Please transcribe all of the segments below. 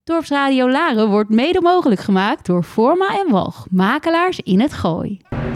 Dorpsradio Laren wordt mede mogelijk gemaakt door Forma en Walch, makelaars in het Gooi.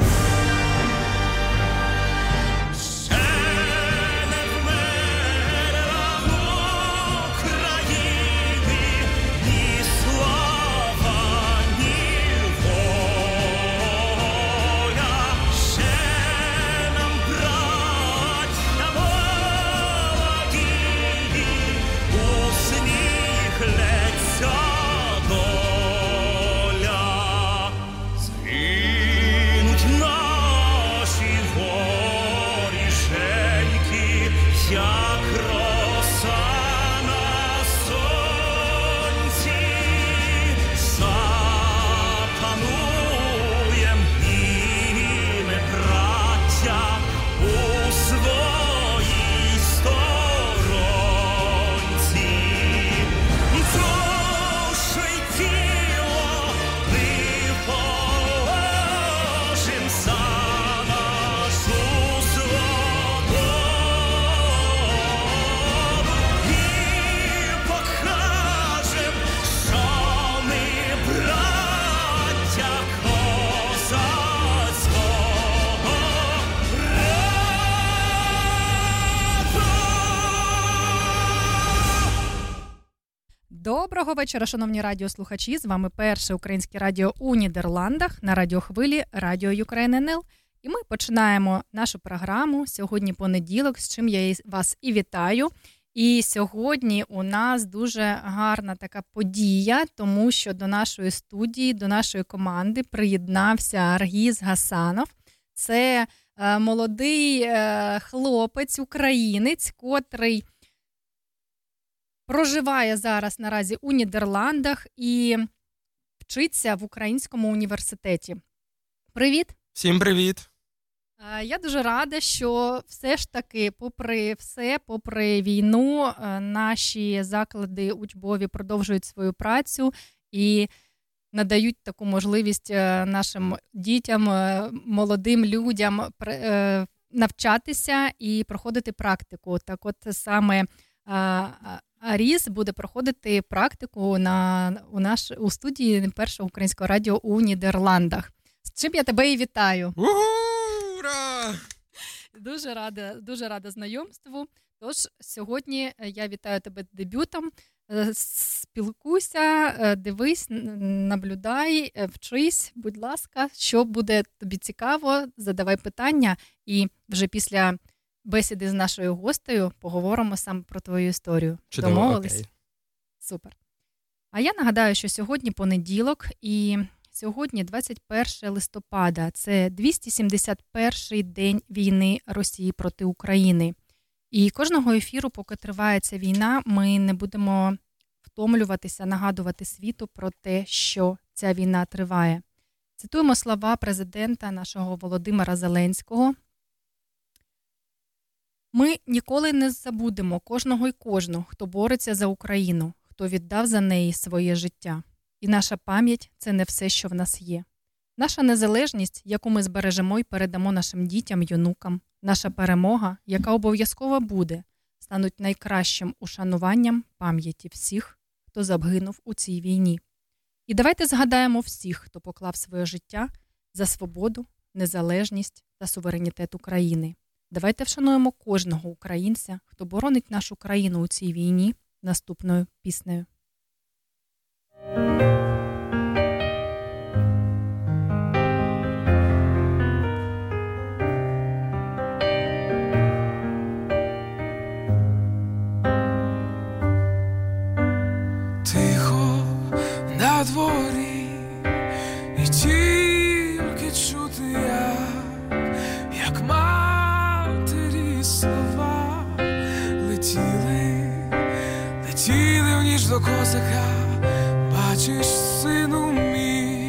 Доброго вечора, шановні радіослухачі. З вами перше українське радіо у Нідерландах на радіохвилі Радіо Ukraine НЛ. І ми починаємо нашу програму. Сьогодні понеділок, з чим я вас і вітаю. І сьогодні у нас дуже гарна така подія, тому що до нашої студії, до нашої команди приєднався Аргіз Гасанов. Це молодий хлопець, українець, котрий проживає зараз наразі у Нідерландах і вчиться в Українському університеті. Привіт! Всім привіт! Я дуже рада, що все ж таки, попри все, попри війну, наші заклади учбові продовжують свою працю і надають таку можливість нашим дітям, молодим людям навчатися і проходити практику. Так от саме Аріс буде проходити практику у студії першого українського радіо у Нідерландах. З чим я тебе і вітаю. Ура! Дуже рада знайомству. Тож сьогодні я вітаю тебе з дебютом. Спілкуйся, дивись, наблюдай, вчись, будь ласка, що буде тобі цікаво, задавай питання і вже після бесіди з нашою гостею поговоримо саме про твою історію. Чудово, домовились? окей. Супер. А я нагадаю, що сьогодні понеділок і сьогодні 21 листопада. Це 271-й день війни Росії проти України. І кожного ефіру, поки триває ця війна, ми не будемо втомлюватися, нагадувати світу про те, що ця війна триває. Цитуємо слова президента нашого Володимира Зеленського. Ми ніколи не забудемо кожного й кожну, хто бореться за Україну, хто віддав за неї своє життя. І наша пам'ять – це не все, що в нас є. Наша незалежність, яку ми збережемо і передамо нашим дітям й онукам, наша перемога, яка обов'язково буде, стануть найкращим ушануванням пам'яті всіх, хто загинув у цій війні. І давайте згадаємо всіх, хто поклав своє життя за свободу, незалежність та суверенітет України. Давайте вшануємо кожного українця, хто боронить нашу країну у цій війні, наступною піснею. Тихо на дворі і тільки чути як матері слова летіли в ніч до козака. Бачиш, сину мій,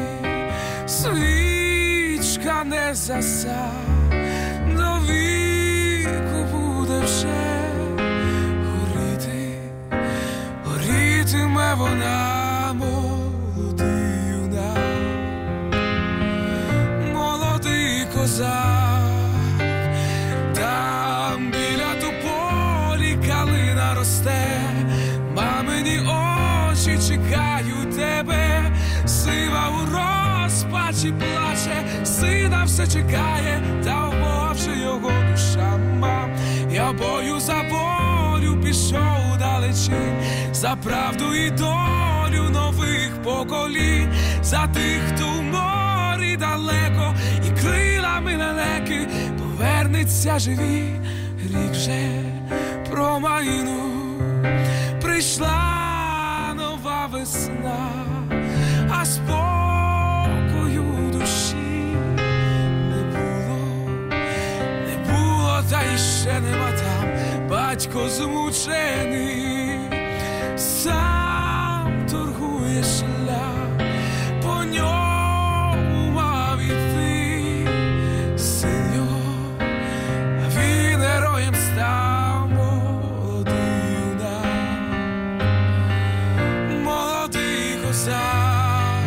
свічка не заса, до віку буде вже горітиме вона, молодий юнак, молодий козак. Там біля тополі калина росте, мамині очі чекають. чекаю тебе, сива у розпачі плаче, сина все чекає, та в Бога вже його душа мав. Я бою за волю пішов далечінь, за правду і долю нових поколінь, за тих, хто в морі далеко і крилами лелеки повернеться живі. Рік вже промайнув, прийшла нова весна, а спокою душі не було, та іще нема там. Батько змучений, сам торгує шлях, по ньому мав іти син його, а він героєм став. Молодий козак,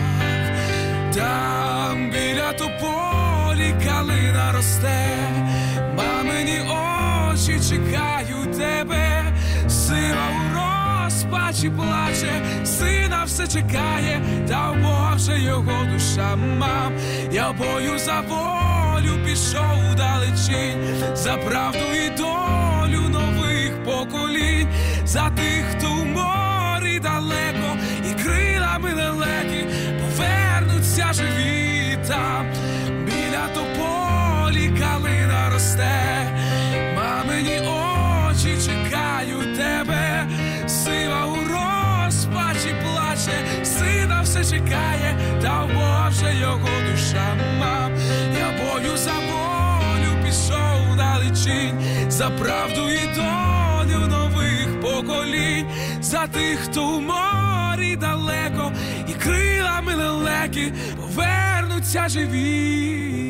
там біля тополі калина росте, мамині очі чекають тебе, сива у розпачі плаче, сина все чекає, та в Бога вже його душа мав. Я в бою за волю пішов далечінь, за правду і долю нових поколінь, за тих, хто в морі далеко і крилами лелеки повернуться живі там. Біля тополі калина росте, мамині очі чекають тебе, сива у розпачі плаче, сина все чекає, та в Бога вже його душа мав. Я бою за волю пішов далечінь, за правду і долю нових поколінь, за тих, хто в морі далеко і крилами лелеки повернуться живі.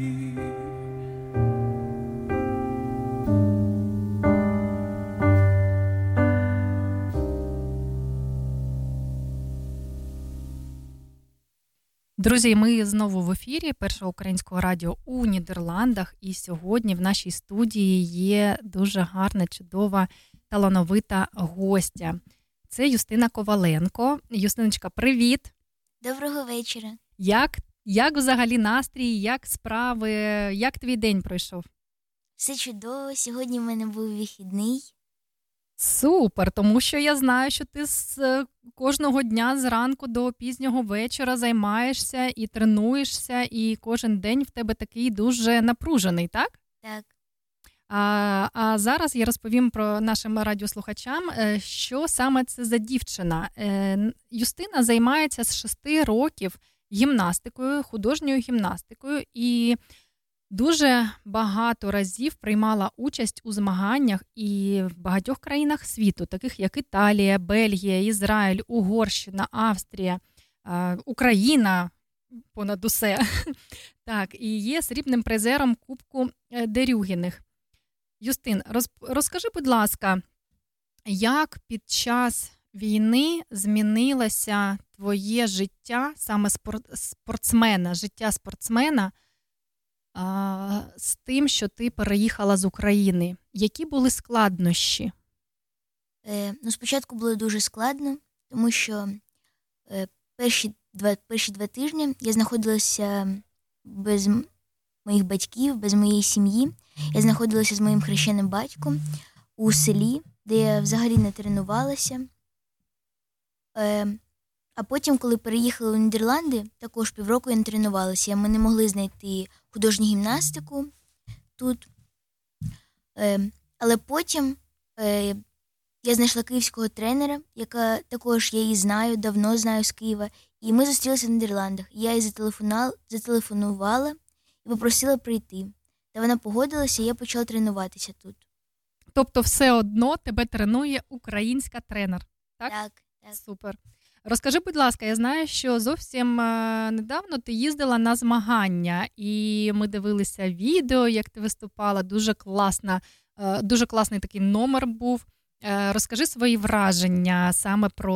Друзі, ми знову в ефірі Першого українського радіо у Нідерландах. І сьогодні в нашій студії є дуже гарна, чудова, талановита гостя. Це Юстина Коваленко. Юстиночка, привіт! Доброго вечора. Як взагалі настрій, як справи, як твій день пройшов? Все чудово. Сьогодні в мене був вихідний. Супер, тому що я знаю, що ти кожного дня зранку до пізнього вечора займаєшся і тренуєшся, і кожен день в тебе такий дуже напружений, так? Так. А зараз я розповім про нашим радіослухачам, що саме це за дівчина. Юстина займається з 6 років гімнастикою, художньою гімнастикою, і дуже багато разів приймала участь у змаганнях і в багатьох країнах світу, таких як Італія, Бельгія, Ізраїль, Угорщина, Австрія, Україна, понад усе. Так, і є срібним призером Кубку Дерюгіних. Юстин, розкажи, будь ласка, як під час війни змінилося твоє життя, саме спортсмена, життя спортсмена, з тим, що ти переїхала з України? Які були складнощі? Спочатку було дуже складно, тому що перші 2 тижні я знаходилася без моїх батьків, без моєї сім'ї. Я знаходилася з моїм хрещеним батьком у селі, де я взагалі не тренувалася. А потім, коли переїхали у Нідерланди, також півроку я не тренувалася. Ми не могли знайти художню гімнастику тут. Але потім я знайшла київського тренера, яка також я її знаю, давно знаю з Києва. І ми зустрілися в Нідерландах. Я їй зателефонувала і попросила прийти. Та вона погодилася, і я почала тренуватися тут. Тобто все одно тебе тренує українська тренер, так? Так. Супер. Розкажи, будь ласка, я знаю, що зовсім недавно ти їздила на змагання, і ми дивилися відео, як ти виступала. Дуже класний такий номер був. Розкажи свої враження саме про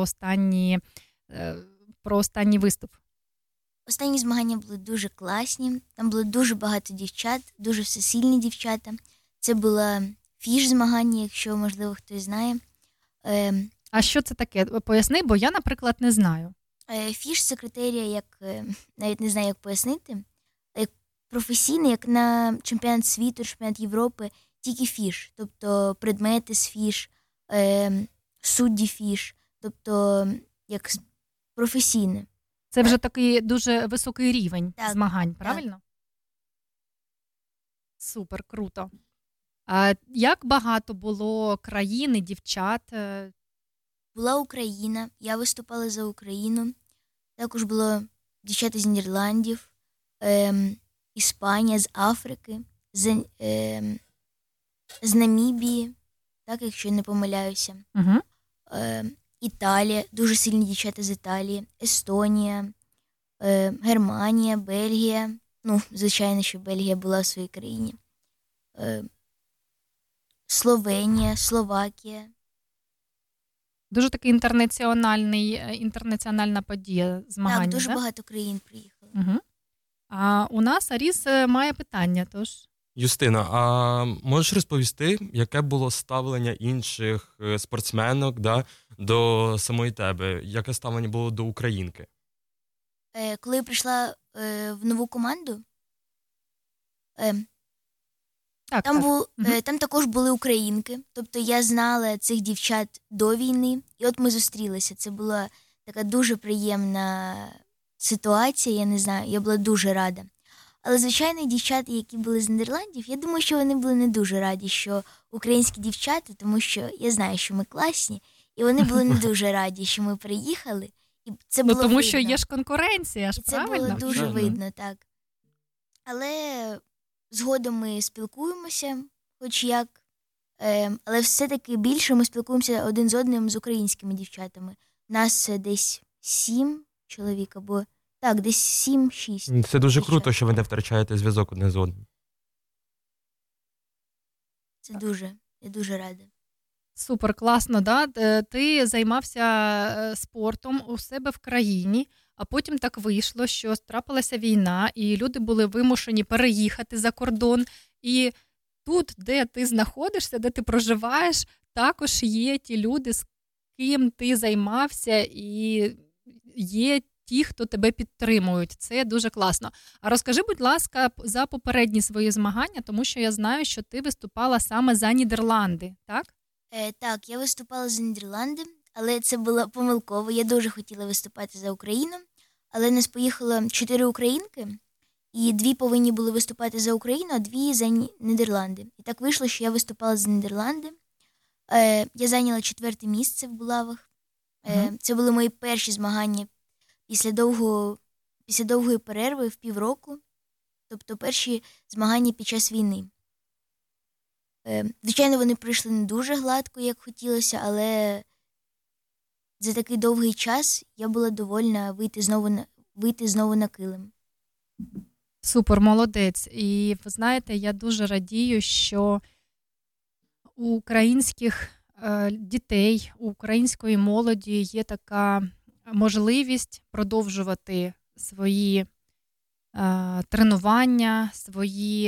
останній виступ. Останні змагання були дуже класні. Там було дуже багато дівчат, дуже всесильні дівчата. Це була фіш змагання, якщо, можливо, хтось знає. А що це таке? Поясни, бо я, наприклад, не знаю. Фіш – це критерія, як, навіть не знаю, як пояснити, як професійний, як на чемпіонат світу, чемпіонат Європи, тільки фіш, тобто предмети з фіш, судді фіш, тобто як професійне. Це вже такий дуже високий рівень змагань, правильно? Так. Супер, круто. А як багато було країн і дівчат? Була Україна, я виступала за Україну. Також було дівчата з Нідерландів, Іспанія, з Африки, з Намібії, так, якщо я не помиляюся. Угу. Італія, дуже сильні дівчата з Італії, Естонія, Германія, Бельгія. Ну, звичайно, що Бельгія була в своїй країні. Словенія, Словакія. Дуже такий інтернаціональна подія змагання. Так, дуже багато країн приїхало. Угу. А у нас Аріс має питання, тож... Юстина, а можеш розповісти, яке було ставлення інших спортсменок до самої тебе? Яке ставлення було до українки? Коли я прийшла в нову команду, там також були українки. Тобто я знала цих дівчат до війни, і от ми зустрілися. Це була така дуже приємна ситуація, я не знаю, я була дуже рада. Але, звичайно, дівчата, які були з Нідерландів, я думаю, що вони були не дуже раді, що українські дівчата, тому що я знаю, що ми класні, і вони були не дуже раді, що ми приїхали. І це було тому видно. що є ж конкуренція, ж правильно? Це було дуже видно, так. Але згодом ми спілкуємося, хоч як, але все-таки більше ми спілкуємося один з одним з українськими дівчатами. Нас десь 7 чоловік, або так, десь 7-6. Це дуже круто, що ви не втрачаєте зв'язок одне з одним. Це дуже, я дуже рада. Супер, класно, да? Ти займався спортом у себе в країні, а потім так вийшло, що трапилася війна, і люди були вимушені переїхати за кордон. І тут, де ти знаходишся, де ти проживаєш, також є ті люди, з ким ти займався, і є ті, хто тебе підтримують. Це дуже класно. А розкажи, будь ласка, за попередні свої змагання, тому що я знаю, що ти виступала саме за Нідерланди, так? Так, я виступала за Нідерланди, але це було помилково. Я дуже хотіла виступати за Україну, але нас поїхало 4 українки, і 2 повинні були виступати за Україну, а 2 за Нідерланди. І так вийшло, що я виступала за Нідерланди. Я зайняла 4-те місце в булавах. Це були мої перші змагання після довгої перерви в півроку, тобто перші змагання під час війни. Звичайно, вони пройшли не дуже гладко, як хотілося, але за такий довгий час я була довольна вийти знову на килим. Супер, молодець. І ви знаєте, я дуже радію, що у українських дітей, у української молоді є така можливість продовжувати свої тренування, свої,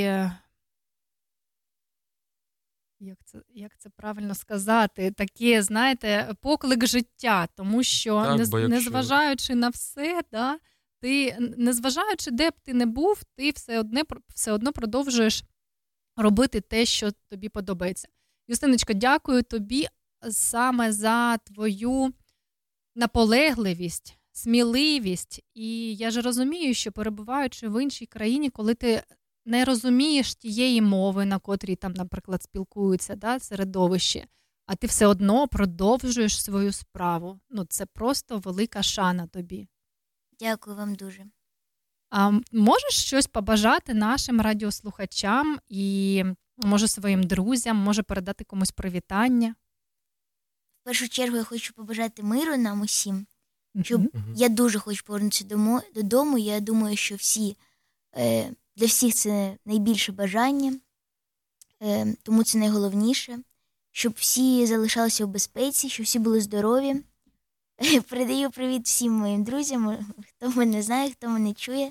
як це правильно сказати, таке, знаєте, поклик життя, тому що Так, незважаючи на все, да, ти, незважаючи де б ти не був, ти все одно продовжуєш робити те, що тобі подобається. Юстиночко, дякую тобі саме за твою наполегливість, сміливість. І я ж розумію, що перебуваючи в іншій країні, коли ти не розумієш тієї мови, на котрій там, наприклад, спілкуються, да, середовище, а ти все одно продовжуєш свою справу. Ну, це просто велика шана тобі. Дякую вам дуже. А можеш щось побажати нашим радіослухачам і, може, своїм друзям, може, передати комусь привітання? В першу чергу я хочу побажати миру нам усім. Щоб я дуже хочу повернутися додому. Я думаю, що для всіх це найбільше бажання, тому це найголовніше. Щоб всі залишалися в безпеці, щоб всі були здорові. Передаю привіт всім моїм друзям, хто мене знає, хто мене чує.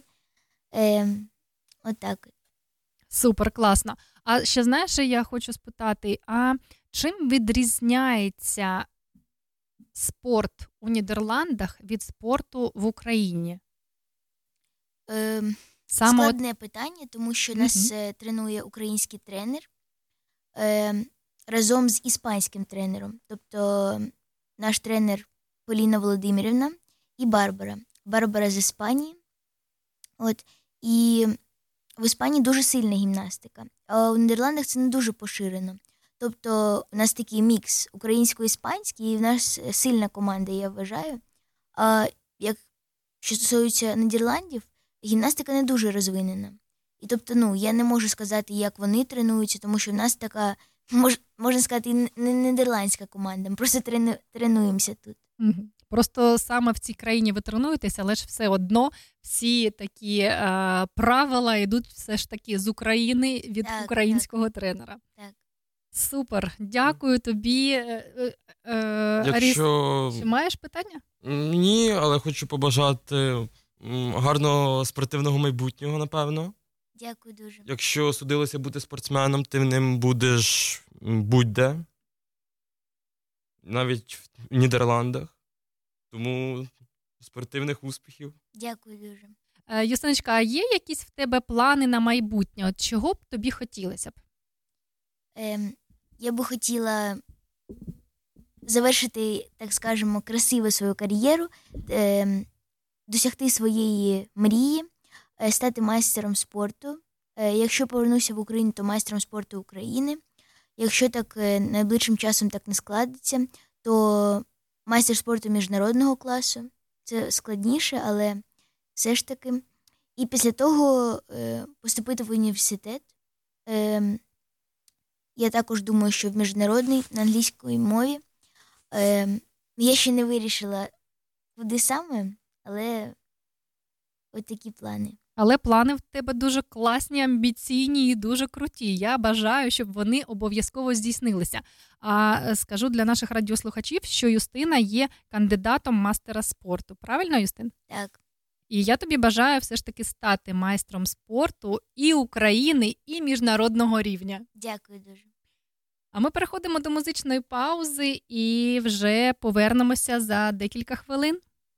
Отак. Супер, класно. А ще, знаєш, я хочу спитати, а чим відрізняється спорт у Нідерландах від спорту в Україні? Складне питання, тому що нас тренує український тренер разом з іспанським тренером. Тобто наш тренер Поліна Володимирівна і Барбара. Барбара з Іспанії. І в Іспанії дуже сильна гімнастика, а у Нідерландах це не дуже поширено. Тобто у нас такий мікс українсько-іспанський, і в нас сильна команда, я вважаю. А що стосується Нідерландів, гімнастика не дуже розвинена. І тобто, я не можу сказати, як вони тренуються, тому що в нас така, можна сказати, не нідерландська команда. Ми просто тренуємося тут. Просто саме в цій країні ви тренуєтеся, але ж все одно всі такі правила йдуть все ж таки з України від українського тренера. Так. Супер. Дякую тобі. Аріс, чи маєш питання? Ні, але хочу побажати гарного спортивного майбутнього, напевно. Дякую дуже. Якщо судилося бути спортсменом, ти ним будеш будь-де. Навіть в Нідерландах. Тому спортивних успіхів. Дякую дуже. Юстиночка, а є якісь в тебе плани на майбутнє? От чого б тобі хотілося б? Я би хотіла завершити, так скажемо, красиво свою кар'єру, досягти своєї мрії, стати майстером спорту. Якщо повернуся в Україну, то майстером спорту України. Якщо так найближчим часом так не складеться, то майстер спорту міжнародного класу. Це складніше, але все ж таки. І після того поступити в університет. Я також думаю, що в міжнародний, на англійській мові. Я ще не вирішила, куди саме, але от такі плани. Але плани в тебе дуже класні, амбіційні і дуже круті. Я бажаю, щоб вони обов'язково здійснилися. А скажу для наших радіослухачів, що Юстина є кандидатом мастера спорту. Правильно, Юстин? Так. І я тобі бажаю все ж таки стати майстром спорту і України, і міжнародного рівня. Дякую дуже. А ми переходимо до музичної паузи і вже повернемося за декілька хвилин.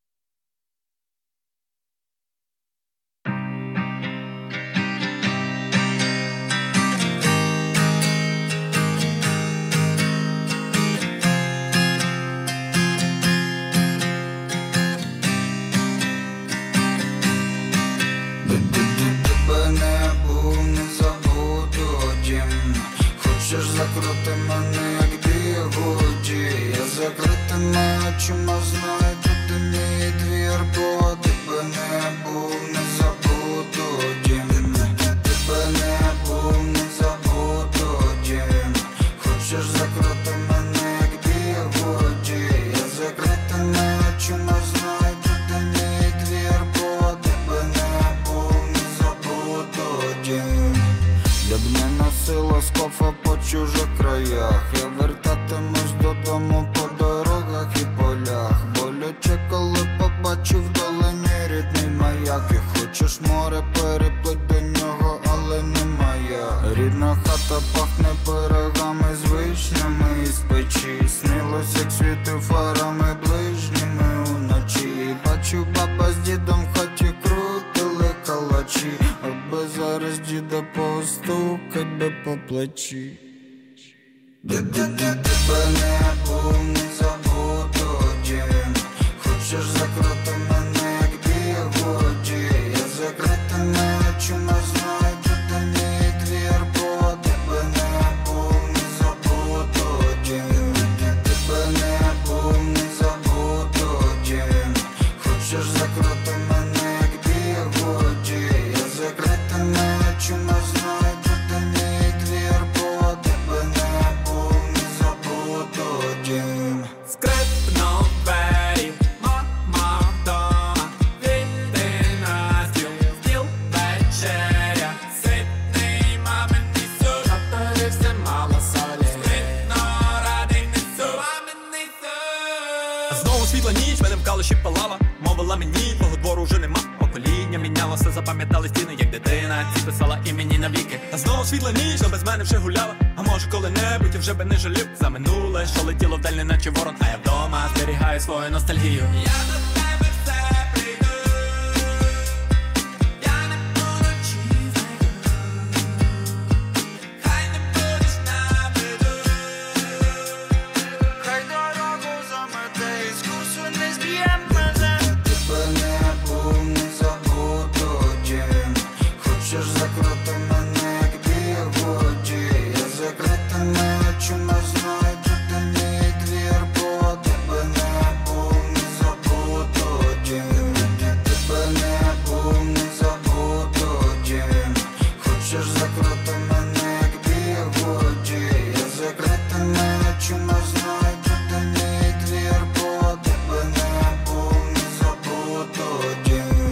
Хочеш закрути мене, як бігуді. Я закритими очима знаю, тут мій двір, бо тебе не був, не забуду дім. Тебе не був, не забуду дім. Хочеш закрути мене, як бігуді. Я закритими очима знаю, тут мій двір, бо тебе не був, не забуду дім. Я б не носила скофа по чужих краях. Я вертатимусь додому по дорогах і полях. Боляче, коли побачу вдалині рідний маяк. І хочеш море, переплить до нього, але не моя. Рідна хата пахне пирогами з вишнями із печі. Снилось, як світив фарами ближніми уночі. Бачу, баба з дідом в хаті крутили калачі. Аби зараз діда постукать би по плечі. Тебе не був, не забуду дім. Хочеш закрити мене, як бігуді. Я закритими очима знаю, тут мій двір, бо тебе не був, не забуду дім. Тебе не був, не забуду дім. Хочеш закрити мене, як бігуді. Я закритими очима знаю, тут мій двір, бо тебе не був, не забуду дім. Скрипнув двері, мама вдома, вийди на стіл, стіл вечеря, ситний маминий суп, наперився мало солі, скрипно радий несу, маминий суп. Знову світла ніч, мене в калуші палала, мовила мені, твого двору вже нема. Покоління мінялося, запам'ятали стіни, як дитина, ці писала імені навіки. А знову світла ніч, то без мене вже гуляла. А може коли-небудь я вже би не жалів за минуле, що летіло вдаль, неначе ворон. А я вдома зберігаю свою ностальгію. Я до тебе все прийду. Я не буду чистий. Хай не будеш на виду. Хай дорогу замете, із курсу не зб'єм мене. Тебе не був, не забуду дім. Хочеш закрити мене, як бігоді. Я закритими очима знайду, де мій двір, бо тебе не був, не забуду дім. Тебе не був, не забуду дім. Хочеш закрити мене, як бігоді. Я закритими очима знайду, де мій двір, бо тебе не був, не забуду дім.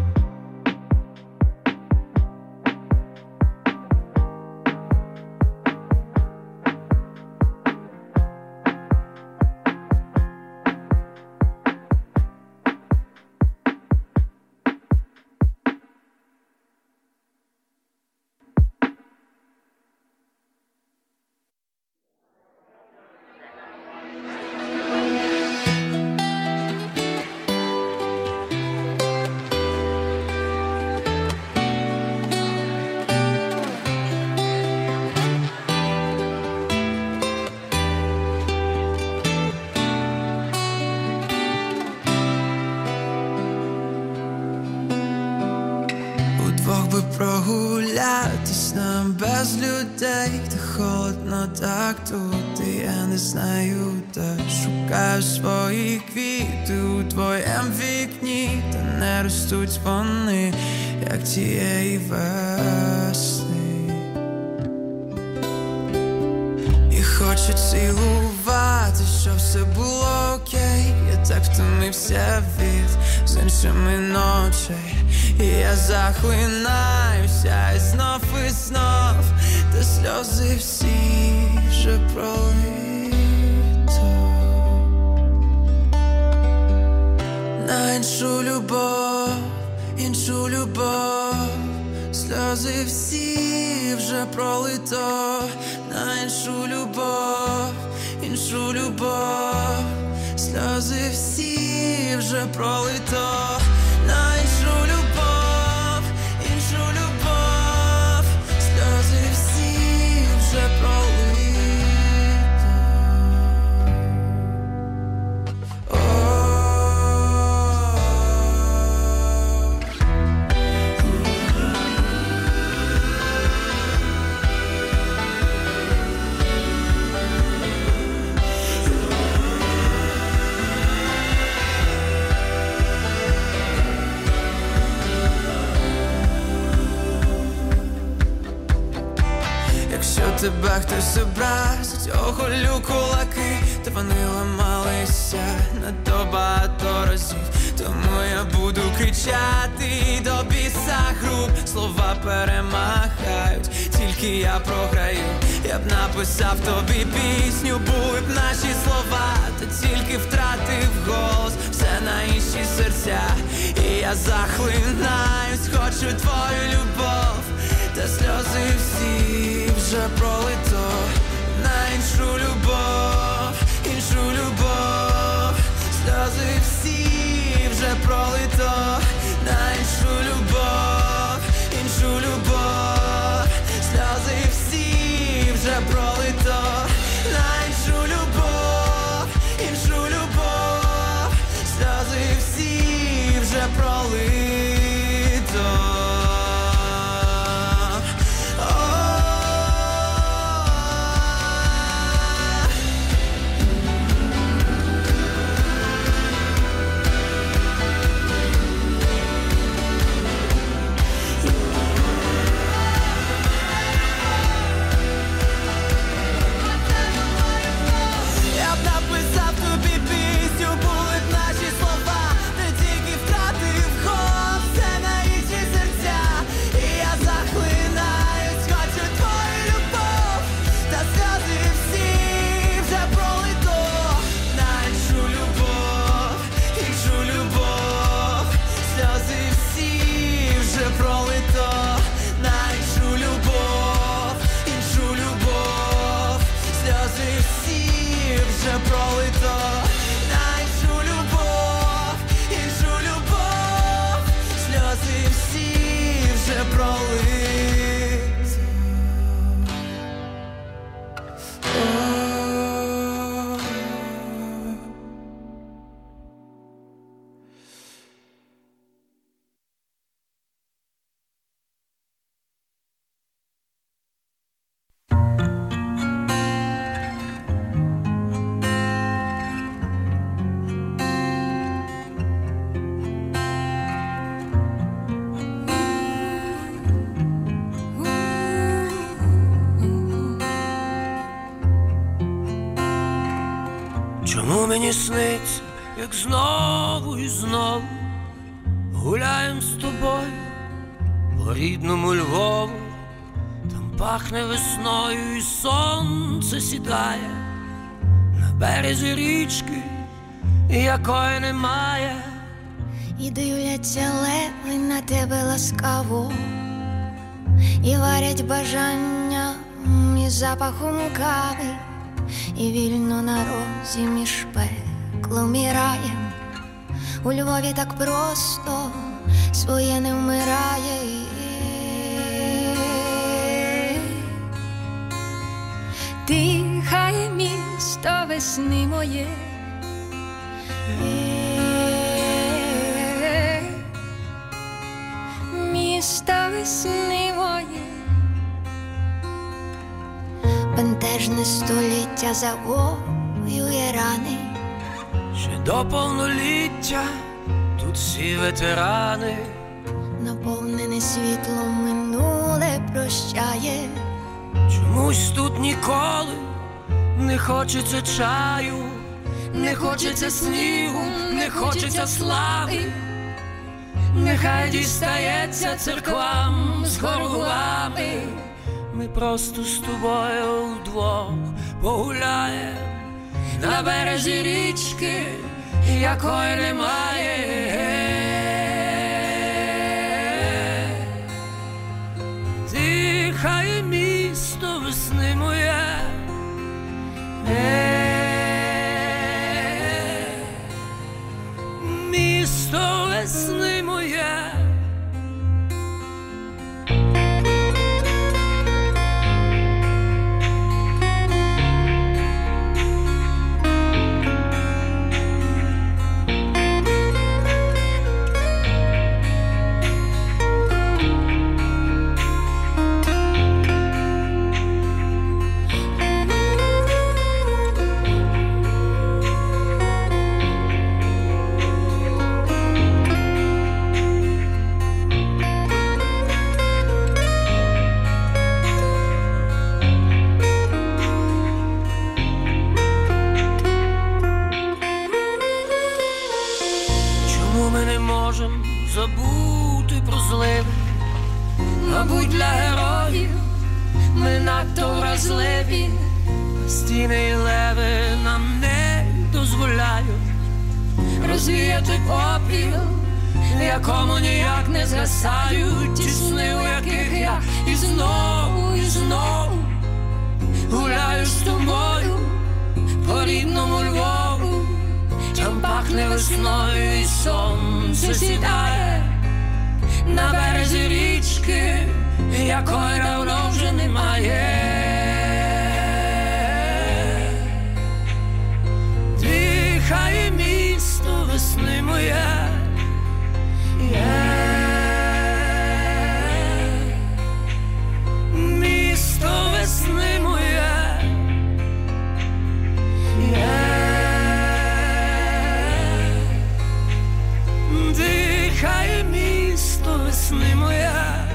Удвох би прогулятись нам без людей, та холодно так тут, і я не знаю де. Шукаю свої квіти у твоєм вікні, та не ростуть вони, як тієї весни. І хочу цілувати, щоб все було окей. Я так втомився від з іншими ночей. І я захлинаюся і знов, та сльози всі вже пролито. На іншу любов, сльози всі вже пролито. На іншу любов, сльози всі вже пролито. На іншу любов, сльози всі вже пролито. Якщо тебе хтось образить, оголю кулаки, та вони ламалися надто багато разів. Тому я буду кричати до біса груб. Слова перемагають, тільки я програю. Я б написав тобі пісню, були б наші слова, та тільки втратив голос, все на інші серця. І я захлинаюсь, хочу твою любов, та сльози всі вже пролито. На іншу любов, сльози всі вже пролито. На іншу любов, сльози всі вже пролито. На іншу любов, сльози всі вже пролито. мені сниться, як знову і знову гуляєм з тобою по рідному Львову. Там пахне весною і сонце сідає на березі річки, якої немає. І дивляться леви на тебе ласкаво, і варять бажання із запахом кави, і вільно на розі між пеклом і раєм. У Львові так просто своє не вмирає. Дихає місто весни моє, місто весни моє. Бентежне століття завоює рани. Ще до повноліття тут всі ветерани. Наповнене світлом минуле прощає. Чомусь тут ніколи не хочеться чаю, не хочеться снігу, не хочеться слави. Нехай дістається церквам з хоргулами. Ми просто з тобою вдвох погуляєм на березі річки, якої немає. Дихає місто весни моє, місто весни моє. Забути про зливи, мабуть, для героїв ми надто вразливі. Стіни і леви нам не дозволяють розвіяти попіл, в якому ніяк не згасають ті сни, у яких я і знову гуляю з тобою по рідному Львову. Там пахне весною і сонце сідає на березі річки, якої давно вже немає. Дихає місто весни моє, місто весни моє. Дихає місто весни моя,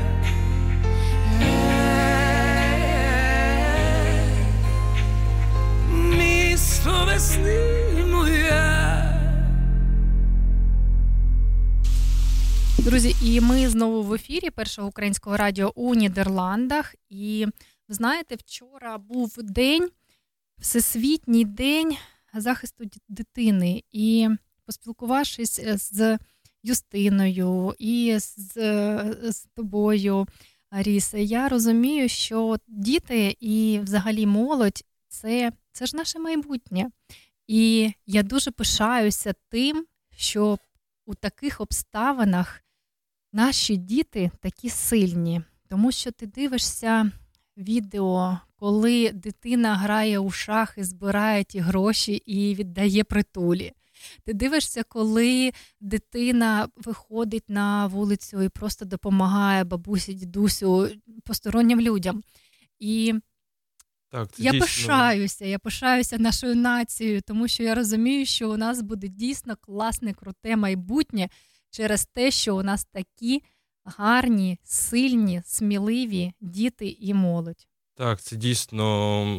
місто весни моя. Друзі, і ми знову в ефірі Першого українського радіо у Нідерландах. І ви знаєте, вчора був день, Всесвітній день захисту дитини. І поспілкувавшись з Юстиною і з тобою, Арісе, я розумію, що діти і взагалі молодь – це ж наше майбутнє. І я дуже пишаюся тим, що у таких обставинах наші діти такі сильні. Тому що ти дивишся відео, коли дитина грає у шахи, збирає ті гроші і віддає притулі. Ти дивишся, коли дитина виходить на вулицю і просто допомагає бабусі, дідусю, постороннім людям. І так, я пишаюся нашою нацією, тому що я розумію, що у нас буде дійсно класне, круте майбутнє через те, що у нас такі гарні, сильні, сміливі діти і молодь. Так, це дійсно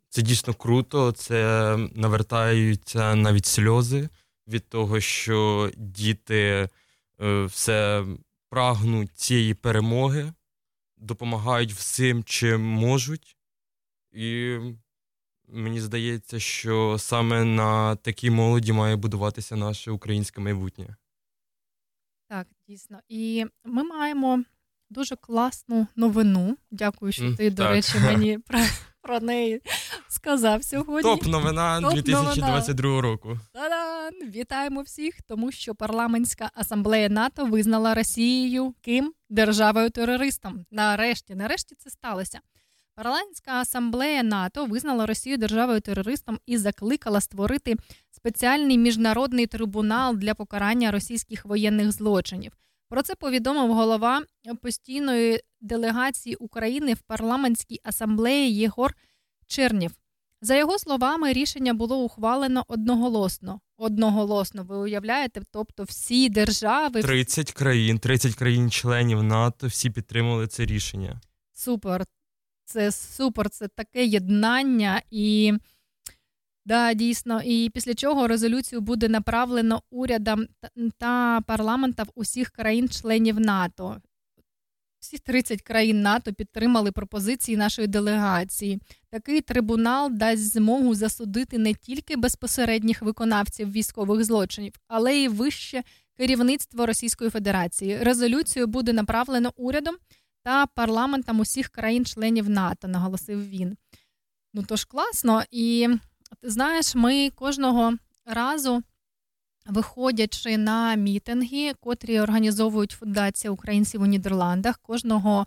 Це дійсно круто, це навертаються навіть сльози від того, що діти все прагнуть цієї перемоги, допомагають всім, чим можуть. І мені здається, що саме на такій молоді має будуватися наше українське майбутнє. Так, дійсно. І ми маємо дуже класну новину. Дякую, що ти, до речі, мені про неї сказав сьогодні. Топ-новина 2022 року. Та-дан! Вітаємо всіх, тому що Парламентська асамблея НАТО визнала Росією ким? Державою-терористом. Нарешті це сталося. Парламентська асамблея НАТО визнала Росію державою-терористом і закликала створити спеціальний міжнародний трибунал для покарання російських воєнних злочинів. Про це повідомив голова постійної делегації України в Парламентській асамблеї Єгор Чернєв. За його словами, рішення було ухвалено одноголосно. Одноголосно, ви уявляєте? Тобто всі держави... 30 країн-членів НАТО, всі підтримали це рішення. Супер. Це супер, це таке єднання і, да, дійсно, і після чого резолюцію буде направлено урядам та парламентам усіх країн-членів НАТО. Всі 30 країн НАТО підтримали пропозиції нашої делегації. Такий трибунал дасть змогу засудити не тільки безпосередніх виконавців військових злочинів, але й вище керівництво Російської Федерації. Резолюцію буде направлено урядом та парламентам усіх країн-членів НАТО, наголосив він. Ну, тож класно. І, ти знаєш, ми кожного разу, виходячи на мітинги, котрі організовують Фундація українців у Нідерландах, кожного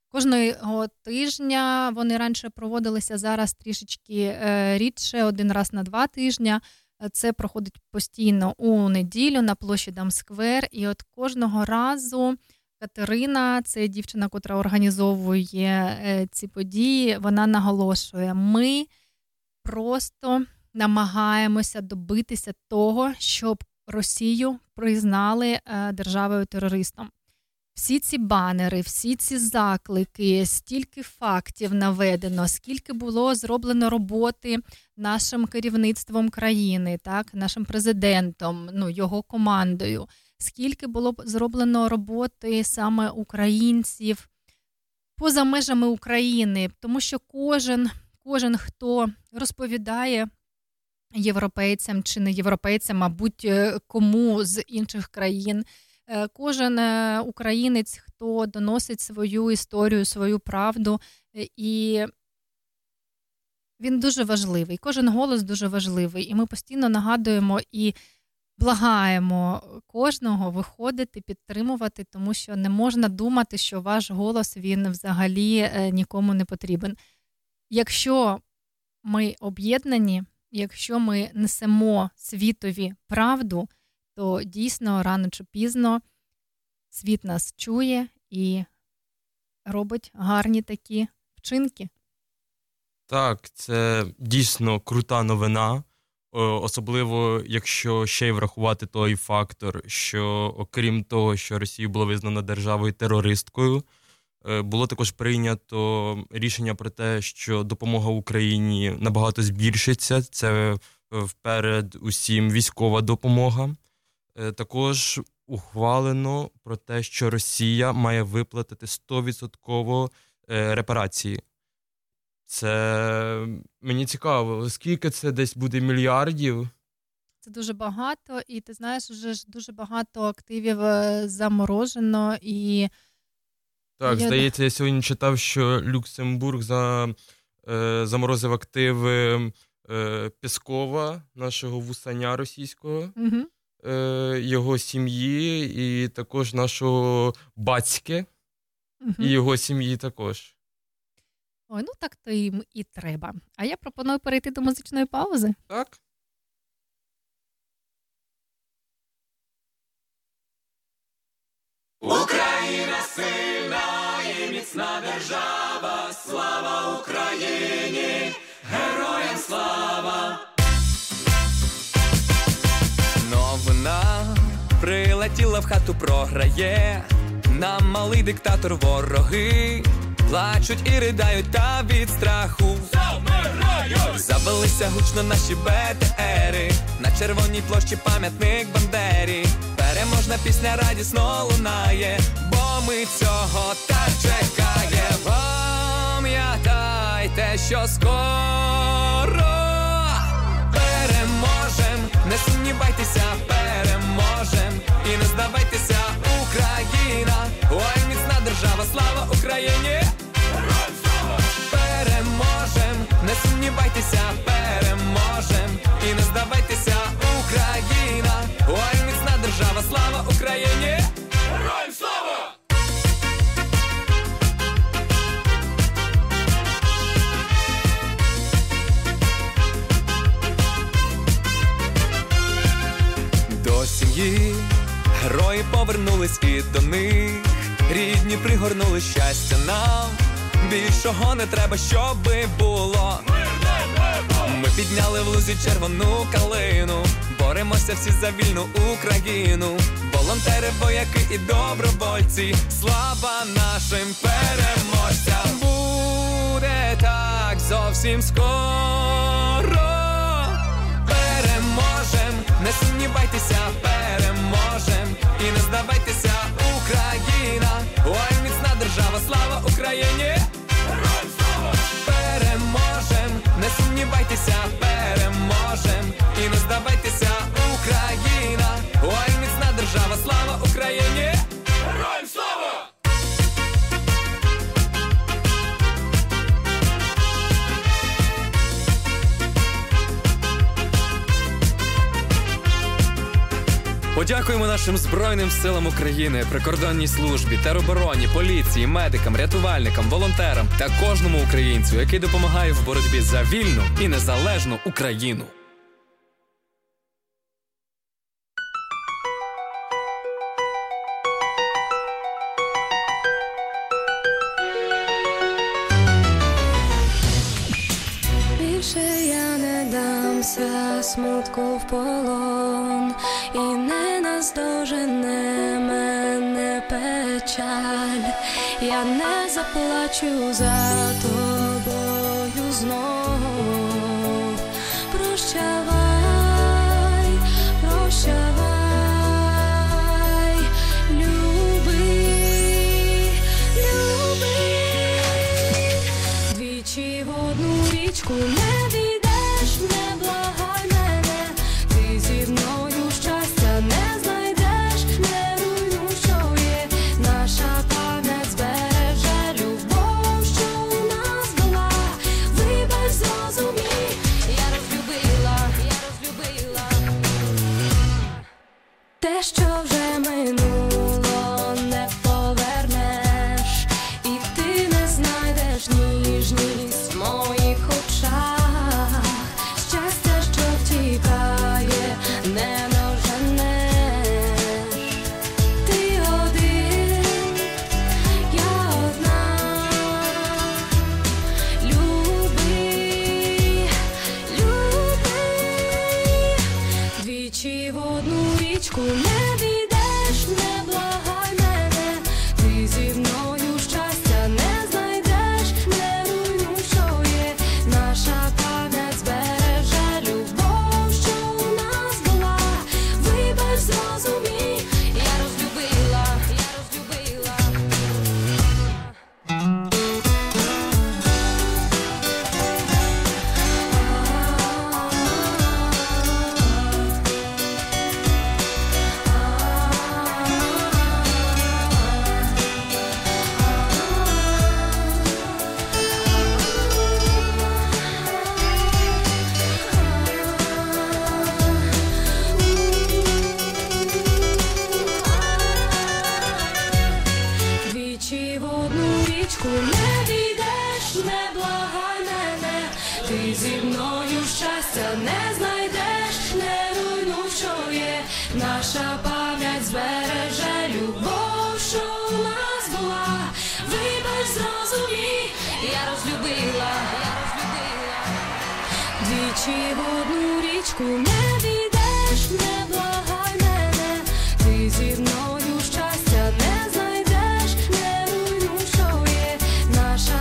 тижня, вони раніше проводилися, зараз трішечки рідше, один раз на 2 тижні. Це проходить постійно у неділю на площі Дамсквер. І от кожного разу Катерина, це дівчина, котра організовує ці події, вона наголошує, ми просто намагаємося добитися того, щоб Росію признали державою-терористом. Всі ці банери, всі ці заклики, стільки фактів наведено, скільки було зроблено роботи нашим керівництвом країни, так, нашим президентом, його командою, скільки було зроблено роботи саме українців поза межами України, тому що кожен, хто розповідає європейцям чи не європейцям, мабуть, кому з інших країн, кожен українець, хто доносить свою історію, свою правду, і він дуже важливий, кожен голос дуже важливий, і ми постійно нагадуємо і благаємо кожного виходити, підтримувати, тому що не можна думати, що ваш голос, він взагалі нікому не потрібен. Якщо ми об'єднані, якщо ми несемо світові правду, то дійсно рано чи пізно світ нас чує і робить гарні такі вчинки. Так, це дійсно крута новина, особливо якщо ще й врахувати той фактор, що окрім того, що Росію було визнано державою-терористкою, було також прийнято рішення про те, що допомога Україні набагато збільшиться. Це вперед усім військова допомога. Також ухвалено про те, що Росія має виплатити 100% репарації. Це мені цікаво, скільки це десь буде мільярдів? Це дуже багато, і ти знаєш, вже ж дуже багато активів заморожено. І так, здається, я сьогодні читав, що Люксембург заморозив активи Пєскова, нашого вусаня російського, його сім'ї, і також нашого батьки, і його сім'ї також. Ой, так то їм і треба. А я пропоную перейти до музичної паузи. Так. Україна сильна і міцна держава, слава Україні, героям слава! Новина прилетіла в хату, програє, нам малий диктатор вороги. плачуть і ридають та від страху завелися гучно наші БТРи, на червоній площі пам'ятник Бандері. Переможна пісня радісно лунає, бо ми цього так чекаємо. Пам'ятайте, що скоро переможем, не сумнівайтеся, переможем. І не здавайтеся, Україна, ой, міцна держава, слава Україні! Переможем, не сумнівайтеся, переможем. І не здавайтеся, Україна, ой, міцна держава, слава Україні! Героям слава! До сім'ї герої повернулись і до них рідні пригорнули щастя нам. Більшого не треба, щоби було. Ми підняли в лузі червону калину, боремося всі за вільну Україну. Волонтери, вояки і добровольці, слава нашим переможцям. Буде так зовсім скоро. Переможем, не сумнівайтеся, переможем. І не здавайтеся, Україна, ой, міцна держава, слава Україні! Переможем, не сумнівайтеся, переможем. І не здавайтеся, Україна, ой, міцна держава, слава Україні! Героям слава! Подякуємо нашим Збройним силам України, прикордонній службі, теробороні, поліції, медикам, рятувальникам, волонтерам та кожному українцю, який допомагає в боротьбі за вільну і незалежну Україну. Більше я не дамся смутку в полон, і не наздожене мене печаль. Я не заплачу за тобою знов. Прощавай, прощавай, люби, люби. Двічі в одну річку не війдеш, не благай мене. Ти зі мною щастя не знайдеш, не руйнуй, що є. Наша пам'ять збереже любов, що у нас була. Вибач, зрозумій, я розлюбила те, що вже минуло, не повернеш. І ти не знайдеш ніжність в моїх очах. Щастя, що втікає, не доженеш. Ти один, я одна. Люби, люби. Двічі в одну річку не війдеш, не благай мене. Ти зі мною щастя не знайдеш, не руйнуй, що є. Наша пам'ять збереже любов, що у нас була. Вибач, зрозумій, я розлюбила. Двічі в одну річку не війдеш, не благай мене. Ти зі мною щастя не знайдеш, не руйнуй, що є. Наша пам'ять збереже любов, що у нас була. Вибач, зрозумій, я розлюбила. Двічі в одну річку не війдеш, не благай мене. Ти зі мною щастя не знайдеш, не руйнуй, що є. Наша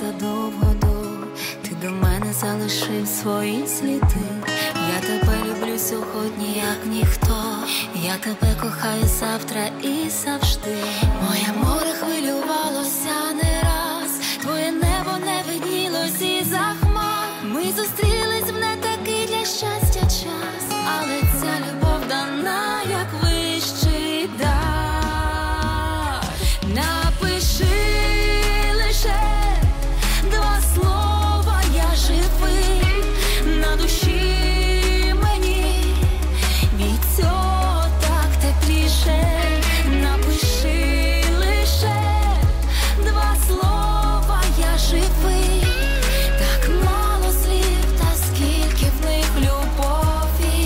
задовго, ти до мене залишив свої сліди. Я тебе люблю сьогодні, як ніхто. Я тебе кохаю завтра і завжди. Моє море хвилювалося не раз, твоє небо не виднілось із-за хмар. Ми зустрілись в не такий для щастя час, але ця любов дана, як вищий дар. Напиши лише 2 слова, я живий, на душі мені від цього так тепліше. Напиши лише 2 слова, я живий, так мало слів, та скільки в них любові.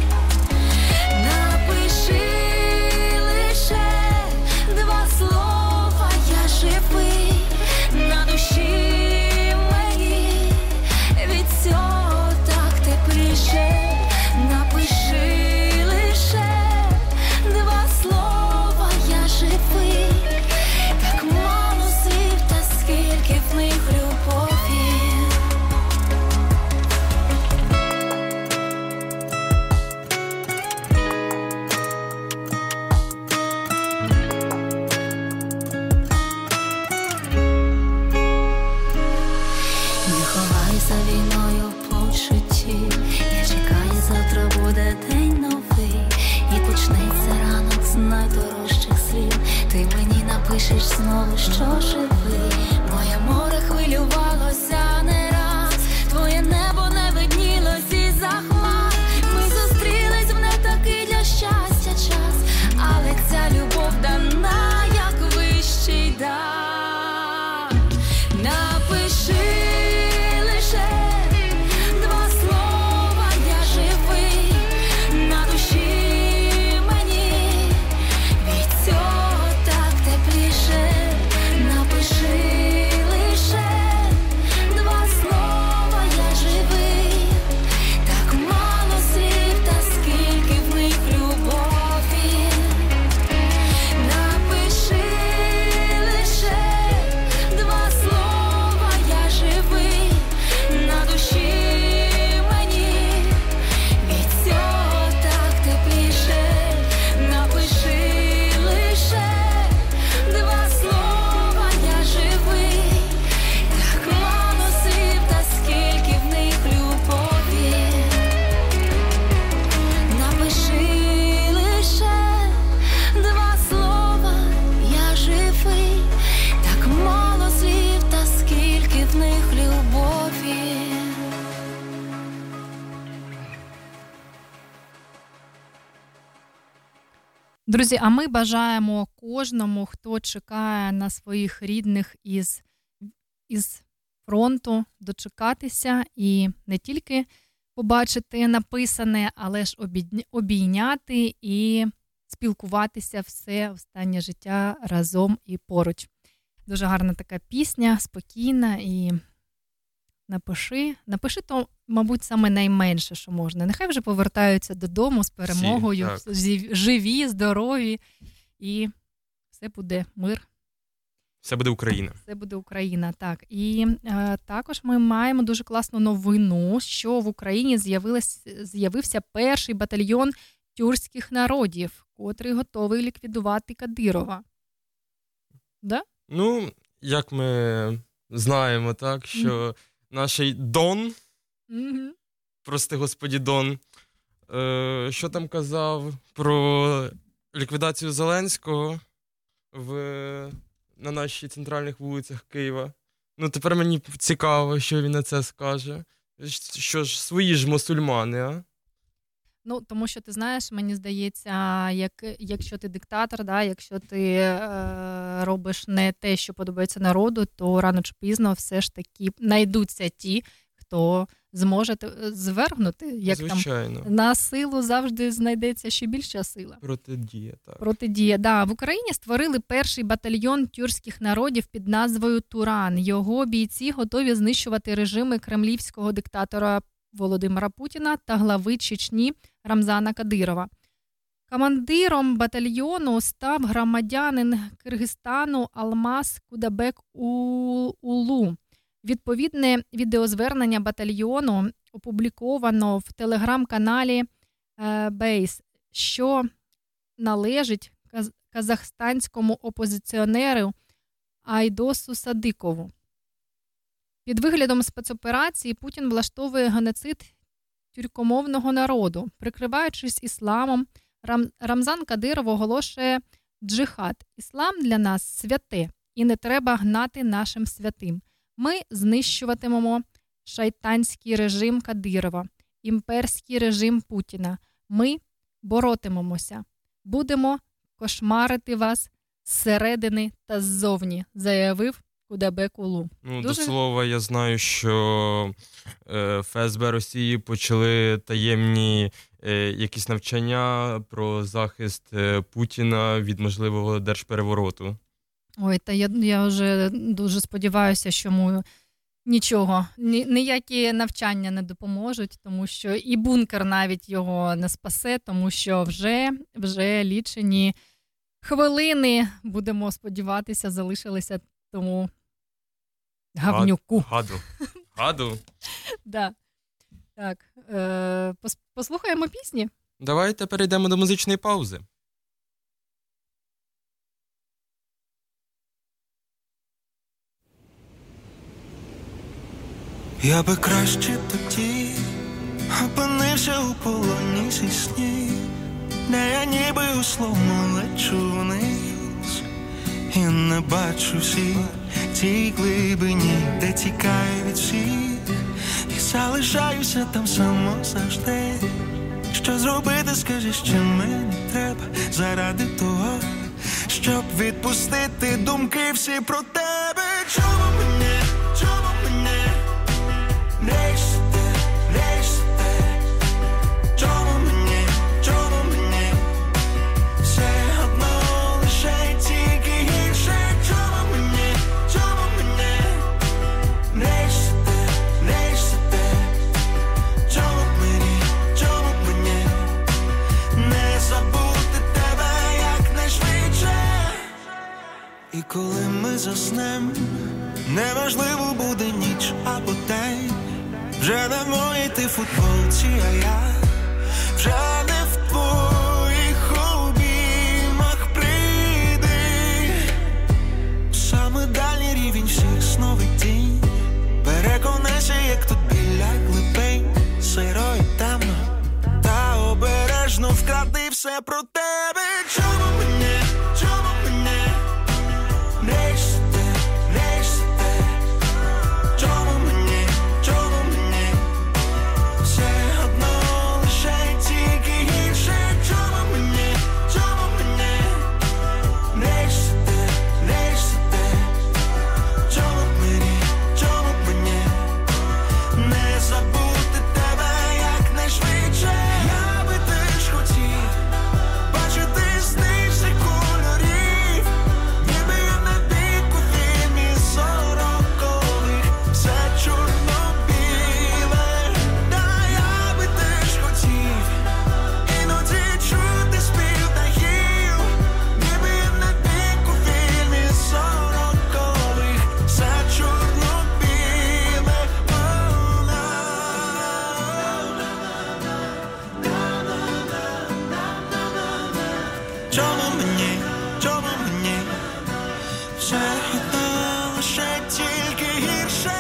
Напиши лише 2 слова, я живий, на душі мені від цього так тепліше. Напиши лише 2 слова, я живий, так мало слів, та скільки в них любові. Не ховайся війною в почутті. Я чекаю, завтра буде день новий, і почнеться ранок з найдорожчих слів. Ти мені напишеш знову, що живий. Моє море хвилювалося не раз, твоє небо не виднілось із-за хмар. Ми зустрілись в не такий для щастя час, але ця любов дана, як вищий дар. Напиши лише 2 слова, я живий, на душі мені від цього так тепліше. Напиши лише 2 слова, я живий, так мало слів, та скільки в них любові. Напиши лише 2 слова, я живий, на душі мені від цього так тепліше. Напиши лише 2 слова, я живий, так мало слів, та скільки в них любові. Напиши лише 2 слова, я живий, так мало слів, та скільки в них любові. Друзі, а ми бажаємо кожному, хто чекає на своїх рідних із фронту, дочекатися і не тільки побачити написане, але ж обійняти і спілкуватися все останнє життя разом і поруч. Дуже гарна така пісня, спокійна, і напиши то, мабуть, саме найменше, що можна. Нехай вже повертаються додому з перемогою, живі, здорові, і все буде мир. Все буде Україна. Все буде Україна, так. І також ми маємо дуже класну новину, що в Україні з'явився перший батальйон тюркських народів, котрий готовий ліквідувати Кадирова. Да? Ну, як ми знаємо, так, що наш Дон, прости господі Дон, що там казав про ліквідацію Зеленського на наших центральних вулицях Києва. Ну, тепер мені цікаво, що він на це скаже. Що ж, свої ж мусульмани, а? Ну, тому що, ти знаєш, мені здається, якщо ти диктатор, да, якщо ти робиш не те, що подобається народу, то рано чи пізно все ж таки знайдуться ті, хто зможе звергнути. Як звичайно. Там на силу завжди знайдеться ще більша сила. Протидія, так. Протидія, да. В Україні створили перший батальйон тюркських народів під назвою «Туран». Його бійці готові знищувати режими кремлівського диктатора Володимира Путіна та глави Чечні Рамзана Кадирова. Командиром батальйону став громадянин Киргизстану Алмаз Кудабек Улу. Відповідне відеозвернення батальйону опубліковано в телеграм-каналі Бейс, що належить казахстанському опозиціонеру Айдосу Садикову. Під виглядом спецоперації Путін влаштовує геноцид тюркомовного народу. Прикриваючись ісламом, Рамзан Кадиров оголошує джихад. Іслам для нас святе, і не треба гнати нашим святим. Ми знищуватимемо шайтанський режим Кадирова, імперський режим Путіна. Ми боротимемося. Будемо кошмарити вас зсередини та ззовні, заявив Кудайбек Улу. До слова, я знаю, що ФСБ Росії почали таємні якісь навчання про захист Путіна від можливого держперевороту. Ой, та я вже дуже сподіваюся, що йому нічого, ніякі навчання не допоможуть, тому що і бункер навіть його не спасе, тому що вже лічені хвилини, будемо сподіватися, залишилися тому гавнюку. Гаду. Да. Так, послухаємо пісні? Давайте перейдемо до музичної паузи. Я би краще тоді опинився у полоні зі снів, де я ніби у словно лечу вниз і не бачу всіх тій глибині, де тікаю від всіх і залишаюся там само завжди. Що зробити, скажи, що мені треба заради того, щоб відпустити думки всі про тебе. Чому мене нести, чому мені все одно лише тільки гірше, чому мені нести, чому мені не забути тебе якнайшвидше. І коли ми заснем, неважливо буде ніч або день, вже не в моїй ти футболці, а я вже не в твоїх обіймах. Прийди саме дальній рівень всіх сновидінь, переконайся, як тут біля глибин сиро і темно, та обережно вкради все про тебе. Чому мені нести, чому мені все одно лише тільки гірше, чому мені нести, чому мені не забути тебе якнайшвидше. Я би теж хотів бачити сни всіх кольорів, ніби я на дику фільмі сорокових, все чорно-біле. Та я би теж хотів іноді чути спів птахів, ніби я на дику фільмі сорокових, все чорно-біле. Чому мені все одно лише тільки гірше.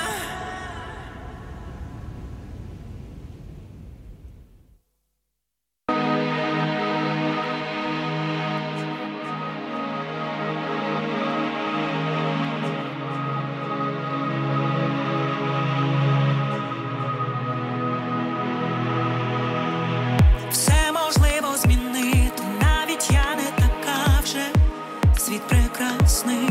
Все можливо змінити, навіть я не така вже. Світ прекрасний,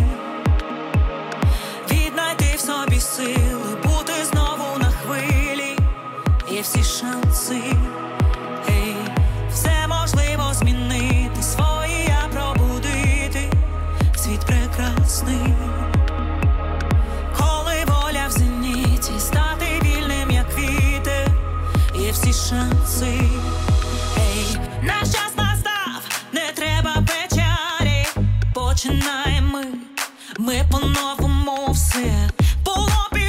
віднайти в собі сили, бути знову на хвилі, є всі шанси. Ей, все можливо змінити, свої я пробудити. Світ прекрасний, коли воля в зеніті, стати вільним, як вітер, є всі шанси. Ей, наш час настав, не треба печалі, починаємо ми по-новому все було під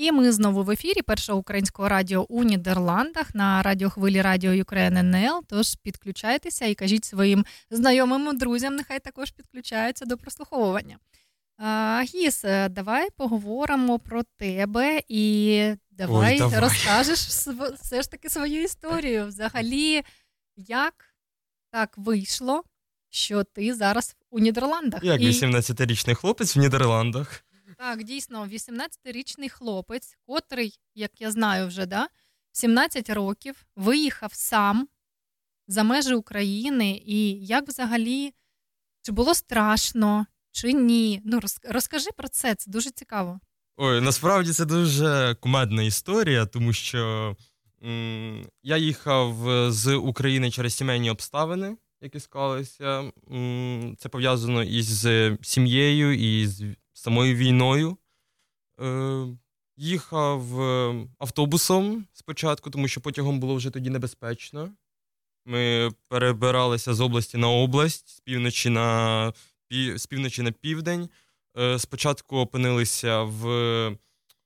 І ми знову в ефірі Першого українського радіо у Нідерландах на радіохвилі Радіо Ukraine НЛ. Тож підключайтеся і кажіть своїм знайомим, друзям, нехай також підключаються до прослуховування. Гіс, давай поговоримо про тебе і давай розкажеш все ж таки свою історію. Взагалі, як так вийшло, що ти зараз у Нідерландах? Як 18-річний хлопець в Нідерландах. Так, дійсно, 18-річний хлопець, котрий, як я знаю вже, в 17 років виїхав сам за межі України. І як взагалі, чи було страшно, чи ні? Ну, розкажи про це дуже цікаво. Ой, насправді це дуже кумедна історія, тому що я їхав з України через сімейні обставини, які склалися. Це пов'язано із сім'єю, і з самою війною. Їхав автобусом спочатку, тому що потягом було вже тоді небезпечно. Ми перебиралися з області на область, з півночі на південь. Спочатку опинилися в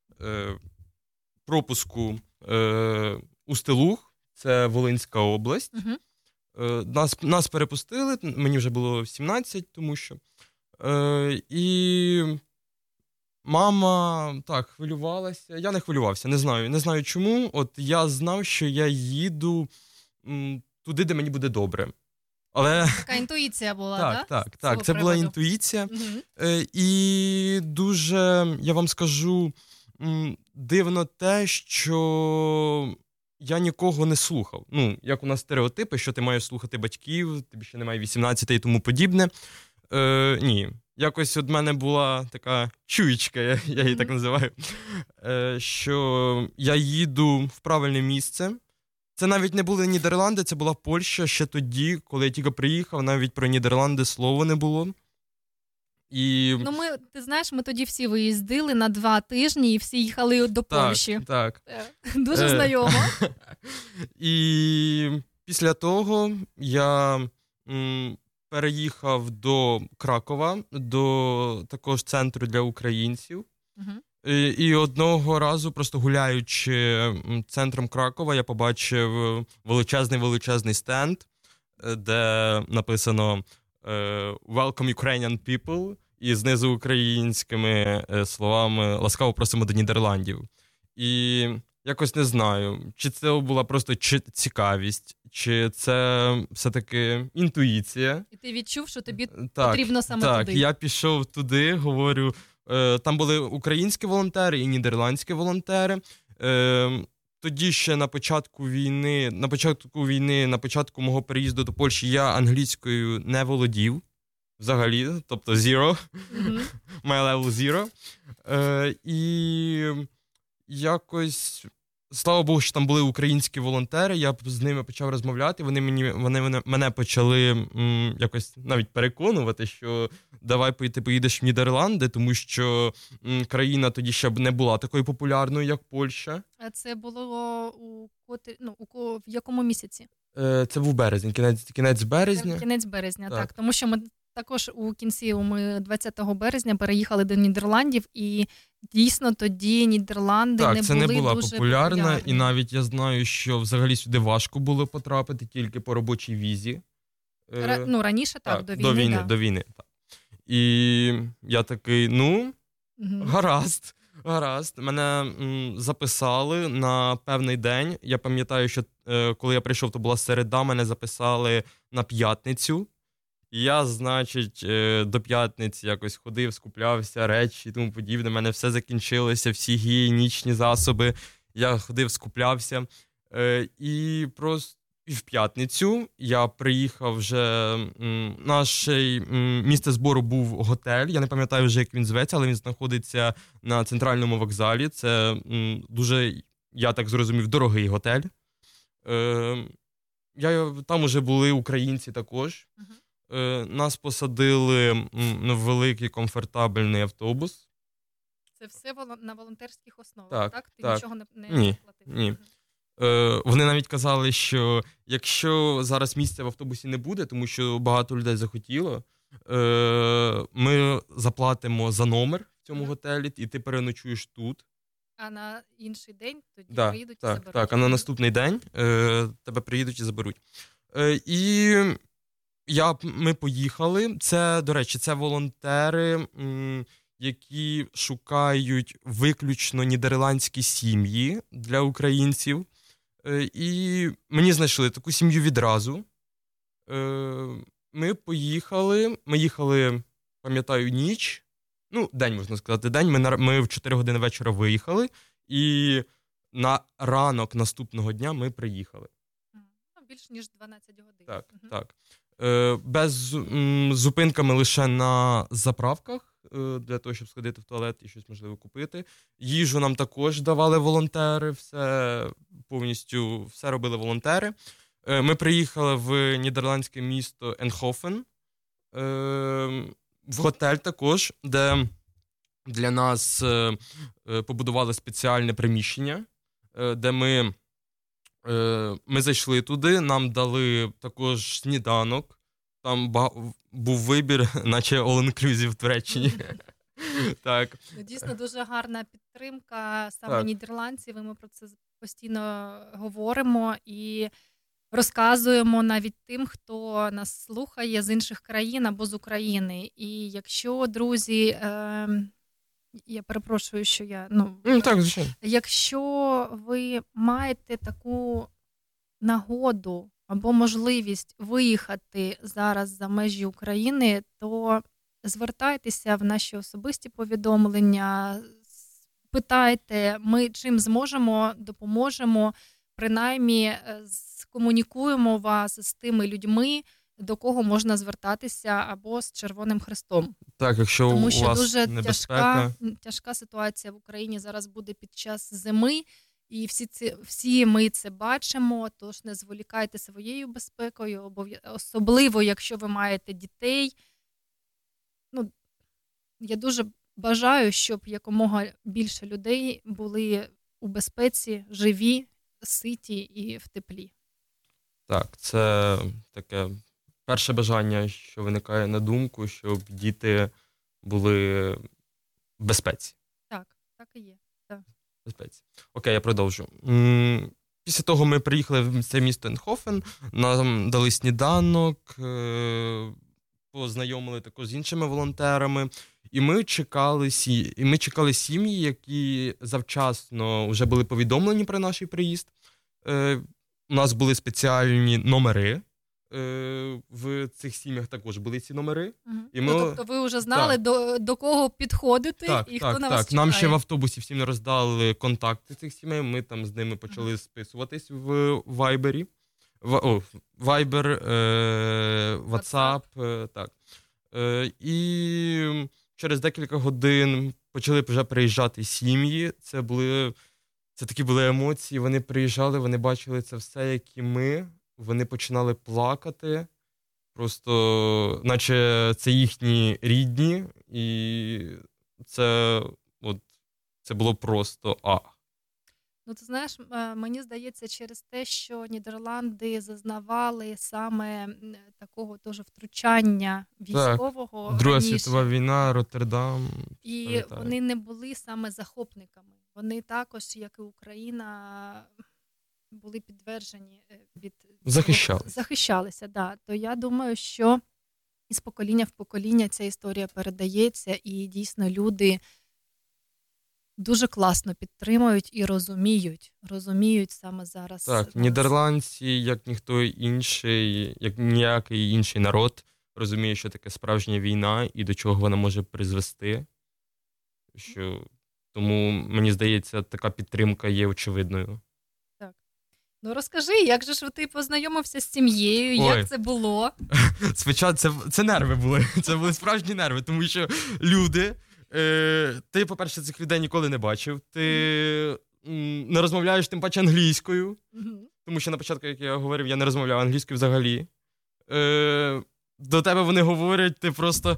пропуску Устилуг, це Волинська область. Нас перепустили, мені вже було 17, тому що. І мама так хвилювалася. Я не хвилювався, не знаю чому. От я знав, що я їду туди, де мені буде добре. Але... Така інтуїція була, так, це була інтуїція. І дуже, я вам скажу, дивно те, що я нікого не слухав. Ну, як у нас стереотипи, що ти маєш слухати батьків, тобі ще немає 18 і тому подібне. Ні. Якось від мене була така чуєчка, я її так називаю, що я їду в правильне місце. Це навіть не були Нідерланди, це була Польща ще тоді, коли я тільки приїхав, навіть про Нідерланди слова не було. І... Ну, ти знаєш, ми тоді всі виїздили на 2 тижні і всі їхали до Польщі. Так. Дуже знайомо. І після того я переїхав до Кракова, до також центру для українців. І одного разу, просто гуляючи центром Кракова, я побачив величезний стенд, де написано «Welcome Ukrainian people» і знизу українськими словами «Ласкаво просимо до Нідерландів». І якось не знаю, чи це була просто цікавість, чи це все-таки інтуїція. І ти відчув, що тобі потрібно саме туди. Так, я пішов туди, говорю, там були українські волонтери і нідерландські волонтери. Тоді ще на початку війни, на початку мого переїзду до Польщі, я англійською не володів взагалі, тобто zero, my level zero. І якось, слава Богу, що там були українські волонтери, я з ними почав розмовляти, вони мене почали якось навіть переконувати, що давай ти поїдеш в Нідерланди, тому що країна тоді ще не була такою популярною, як Польща. А це було в якому місяці? Це був березень, кінець березня. Кінець березня, так. Тому що ми також у кінці, ми 20 березня переїхали до Нідерландів, і дійсно тоді Нідерланди не були дуже популярні. Так, це не була популярна, і навіть я знаю, що взагалі сюди важко було потрапити тільки по робочій візі. Раніше так, до війни. Так. І я такий, гаразд. Мене записали на певний день. Я пам'ятаю, що коли я прийшов, то була середа, мене записали на п'ятницю. І я, значить, до п'ятниці якось ходив, скуплявся, речі і тому подібне. У мене все закінчилося, всі гігієнічні засоби. Я ходив, скуплявся. І просто в п'ятницю я приїхав вже, наше місце збору був готель, я не пам'ятаю вже, як він зветься, але він знаходиться на центральному вокзалі. Це дуже, я так зрозумів, дорогий готель. Там уже були українці також. Нас посадили в великий комфортабельний автобус. Це все на волонтерських основах, так? Ти нічого не платив? Ні. Вони навіть казали, що якщо зараз місця в автобусі не буде, тому що багато людей захотіло, ми заплатимо за номер в цьому готелі, і ти переночуєш тут. А на інший день тоді Да, приїдуть і так, заберуть. так, а на наступний день тебе приїдуть і заберуть. І ми поїхали. Це, до речі, це волонтери, які шукають виключно нідерландські сім'ї для українців. І мені знайшли таку сім'ю відразу. Ми їхали, пам'ятаю, ніч. День, можна сказати, день. Ми в 4 години вечора виїхали, і на ранок наступного дня ми приїхали. Більш ніж 12 годин. Так, так. Без зупинками лише на заправках, для того, щоб сходити в туалет і щось, можливо, купити. Їжу нам також давали волонтери, повністю все робили волонтери. Ми приїхали в нідерландське місто Енхофен, в готель також, де для нас побудували спеціальне приміщення, де ми зайшли туди, нам дали також сніданок, там був вибір, наче all-inclusive в Туреччині. Так. Дійсно, дуже гарна підтримка саме нідерландців, і ми про це постійно говоримо і розказуємо навіть тим, хто нас слухає з інших країн або з України. І якщо, друзі, я перепрошую, що я... Так, звичайно. Якщо ви маєте таку нагоду або можливість виїхати зараз за межі України, то звертайтеся в наші особисті повідомлення, питайте, ми чим зможемо, допоможемо, принаймні скомунікуємо вас з тими людьми, до кого можна звертатися, або з Червоним Хрестом. Так, якщо тому у що вас дуже небезпека. тяжка ситуація в Україні зараз буде під час зими, і всі ми це бачимо, тож не зволікайте своєю безпекою, особливо, якщо ви маєте дітей. Я дуже бажаю, щоб якомога більше людей були у безпеці, живі, ситі і в теплі. Так, це таке перше бажання, що виникає на думку, щоб діти були в безпеці. Так і є. Так. Безпеці. Окей, я продовжу. Після того ми приїхали в це місто Енхофен, нам дали сніданок, познайомили також з іншими волонтерами, і ми чекали сім'ї, які завчасно вже були повідомлені про наш приїзд. У нас були спеціальні номери, в цих сім'ях також були ці номери. І ми... тобто ви вже знали, до кого підходити і хто на вас чекає. Нам ще в автобусі всім роздали контакти цих сімей, ми там з ними почали списуватись в Вайбері. Вайбер, WhatsApp, так. І через декілька годин почали вже приїжджати сім'ї. Це такі були емоції, вони приїжджали, вони бачили це все, як і ми. Вони починали плакати, просто наче це їхні рідні, і це було просто Ти знаєш, мені здається, через те, що Нідерланди зазнавали саме такого теж втручання військового. Так, Друга світова війна, Роттердам. І вони не були саме захопниками. Вони також, як і Україна, були підтверджені від... Захищалися, да. То я думаю, що із покоління в покоління ця історія передається, і дійсно люди дуже класно підтримують і розуміють саме зараз. Так, нідерландці, як ніхто інший, як ніякий інший народ, розуміє, що таке справжня війна і до чого вона може призвести. Тому, мені здається, така підтримка є очевидною. Розкажи, як же ж ти познайомився з сім'єю, як це було? Спочатку це нерви були, це були справжні нерви, тому що люди, ти, по-перше, цих людей ніколи не бачив, ти не розмовляєш тим паче англійською, тому що на початку, як я говорив, я не розмовляв англійською взагалі. До тебе вони говорять, ти просто...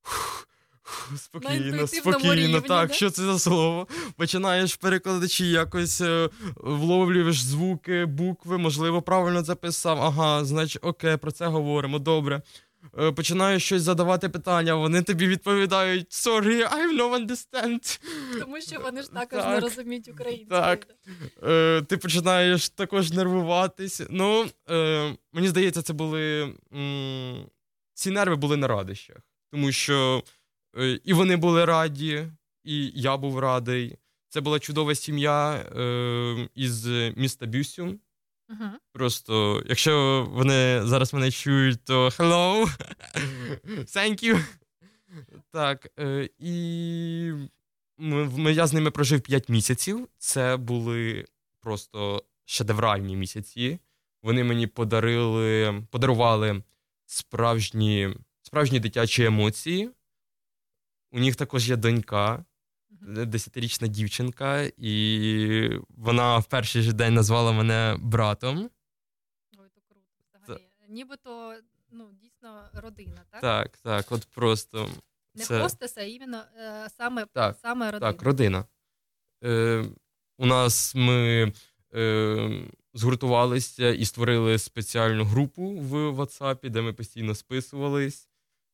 Спокійно, так, що це за слово? Починаєш перекладачі, якось вловлюєш звуки, букви, можливо, правильно записав, ага, значить, окей, про це говоримо, добре. починаєш щось задавати питання, вони тобі відповідають «Sorry, I don't understand». Тому що вони ж також Так. не розуміють українську. Так. Ти починаєш також нервуватись. Мені здається, це були... ці нерви були на радощах. Тому що і вони були раді, і я був радий. Це була чудова сім'я із міста Бюсюм. Просто, якщо вони зараз мене чують, то hello, thank you. Так, і я з ними прожив 5 місяців. Це були просто шедевральні місяці. Вони мені подарували справжні дитячі емоції. У них також є донька, 10-річна дівчинка, і вона в перший же день назвала мене братом. Ой, то круто. Взагалі. Нібито, дійсно родина, так? Так, от просто. Не хостес, а іменно саме родина. Так, родина. У нас ми згуртувалися і створили спеціальну групу в WhatsApp, де ми постійно списувались.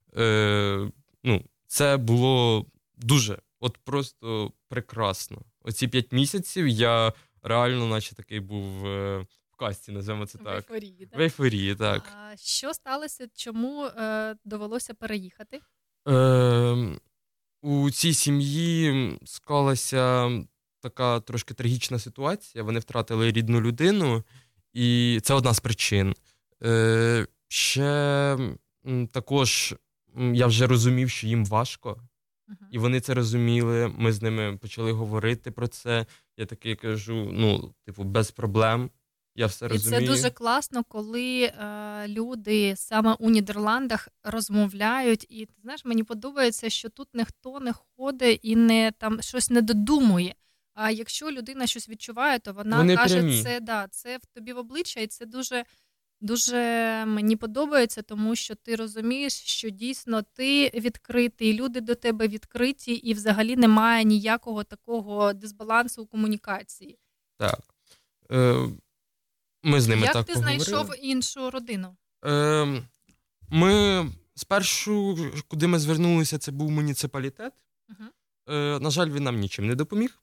Це було дуже, от просто прекрасно. Оці 5 місяців я реально наче такий був в казці, називаємо це так. В ейфорії, так. А що сталося? Чому довелося переїхати? У цій сім'ї склалася така трошки трагічна ситуація. Вони втратили рідну людину, і це одна з причин. Ще також я вже розумів, що їм важко, і вони це розуміли. Ми з ними почали говорити про це. Я такий кажу, без проблем. Я все розумію. І це дуже класно, коли люди саме у Нідерландах розмовляють. І, ти знаєш, мені подобається, що тут ніхто не ходить і не там щось не додумує. А якщо людина щось відчуває, то вона каже, прямі. це в тобі в обличчя, і це дуже, дуже мені подобається, тому що ти розумієш, що дійсно ти відкритий, люди до тебе відкриті, і взагалі немає ніякого такого дисбалансу у комунікації. Так. Ми з ними Як так ти поговорили. знайшов іншу родину? Ми спершу, куди ми звернулися, це був муніципалітет. На жаль, він нам нічим не допоміг.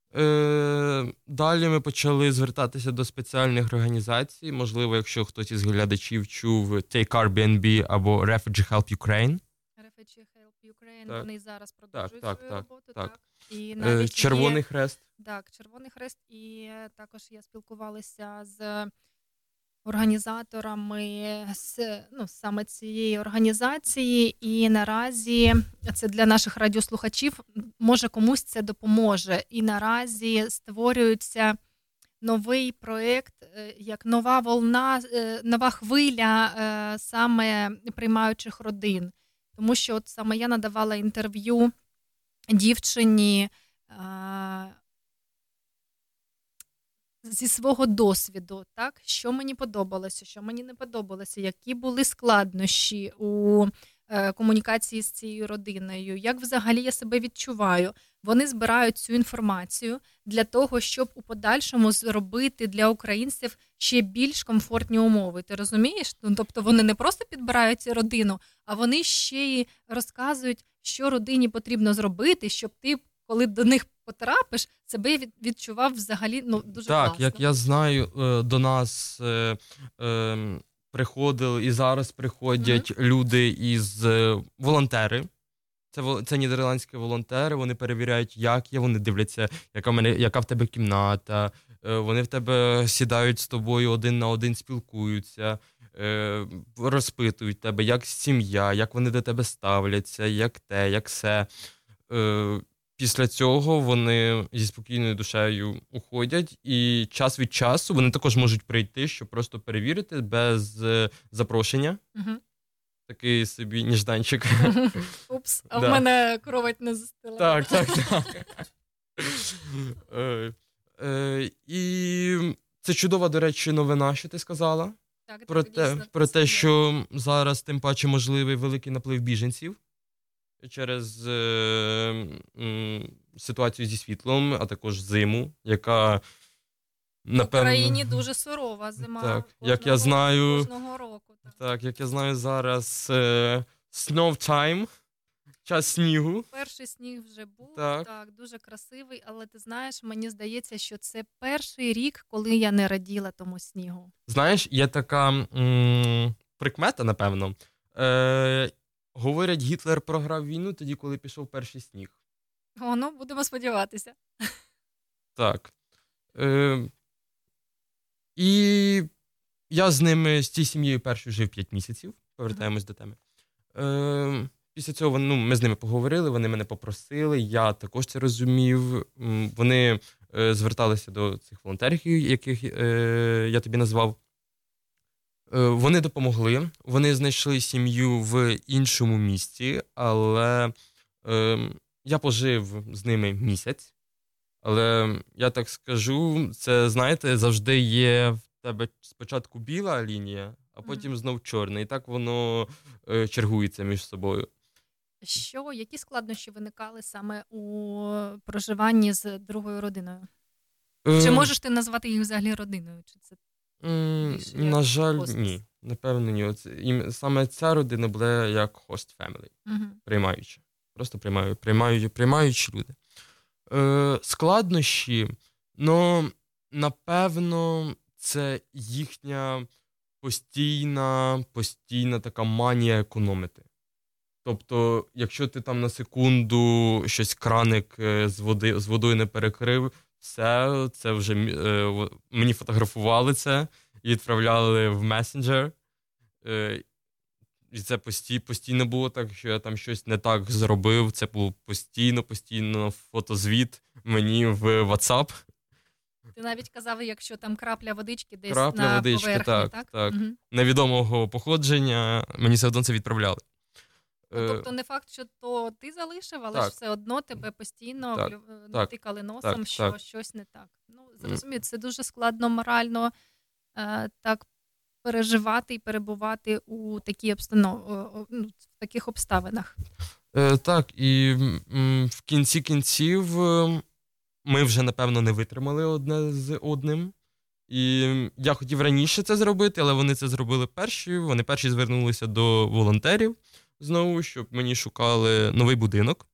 Далі ми почали звертатися до спеціальних організацій. Можливо, якщо хтось із глядачів чув Take Airbnb або Refugee Help Ukraine. Refugee Help Ukraine, вони зараз продовжують свою роботу. Так. І навіть Червоний Хрест. Так, Червоний Хрест. І також я спілкувалася з організаторами саме цієї організації, і наразі це для наших радіослухачів, може комусь це допоможе. І наразі створюється новий проєкт, як нова волна, нова хвиля саме приймаючих родин. Тому що от саме я надавала інтерв'ю дівчині зі свого досвіду, так? Що мені подобалося, що мені не подобалося, які були складнощі у комунікації з цією родиною, як взагалі я себе відчуваю. Вони збирають цю інформацію для того, щоб у подальшому зробити для українців ще більш комфортні умови. Ти розумієш? Тобто вони не просто підбирають цю родину, а вони ще й розказують, що родині потрібно зробити, щоб ти, коли до них потрапиш, себе відчував взагалі дуже класно. Так, як я знаю, до нас приходили і зараз приходять люди із волонтери. Це нідерландські волонтери, вони перевіряють, як є, вони дивляться, яка в тебе кімната, вони в тебе сідають з тобою один на один, спілкуються, розпитують тебе, як сім'я, як вони до тебе ставляться, як те, як се. Після цього вони зі спокійною душею уходять, і час від часу вони також можуть прийти, щоб просто перевірити без запрошення. Такий собі ніжданчик. Упс, а в мене кровать не застила. Так. І це чудова, до речі, новина, що ти сказала. Про те, що зараз тим паче можливий великий наплив біженців через ситуацію зі світлом, а також зиму, яка В Україні дуже сурова зима. Так, як я знаю, кожного року. Так, як я знаю зараз, snow time, час снігу. Перший сніг вже був, Так. так, дуже красивий, але ти знаєш, мені здається, що це перший рік, коли я не раділа тому снігу. Знаєш, є така прикмета, напевно. Говорять, Гітлер програв війну тоді, коли пішов перший сніг. Ну, будемо сподіватися. Так. І я з ними, з цією сім'єю першою жив 5 місяців. Повертаємось до теми. Після цього ми з ними поговорили, вони мене попросили, я також це розумів. Вони зверталися до цих волонтерів, яких я тобі назвав. Вони допомогли, вони знайшли сім'ю в іншому місті, але я пожив з ними місяць. Але я так скажу, це, знаєте, завжди є в тебе спочатку біла лінія, а потім знов чорна. І так воно чергується між собою. Які складнощі виникали саме у проживанні з другою родиною? Чи можеш ти назвати їх взагалі родиною? Чи це на жаль, ні. Напевно, ні. Саме ця родина була як host family. Приймаюча. Просто приймаючі люди. Складнощі, напевно, це їхня постійна така манія економити. Тобто, якщо ти там на секунду щось краник з водою не перекрив, все, це вже мені фотографували це і відправляли в месенджер. І це постійно було так, що я там щось не так зробив. Це був постійно фотозвіт мені в WhatsApp. Ти навіть казав, якщо там крапля водички десь на поверхні, так? Так. Угу. Невідомого походження, мені все одно це відправляли. Тобто не факт, що то ти залишив, але ж все одно тебе постійно натикали носом, що щось не так. Зрозумію, це дуже складно морально так переживати і перебувати у в таких обставинах. Так, і в кінці кінців ми вже, напевно, не витримали одне з одним. І я хотів раніше це зробити, але вони це зробили перші. Вони перші звернулися до волонтерів знову, щоб мені шукали новий будинок.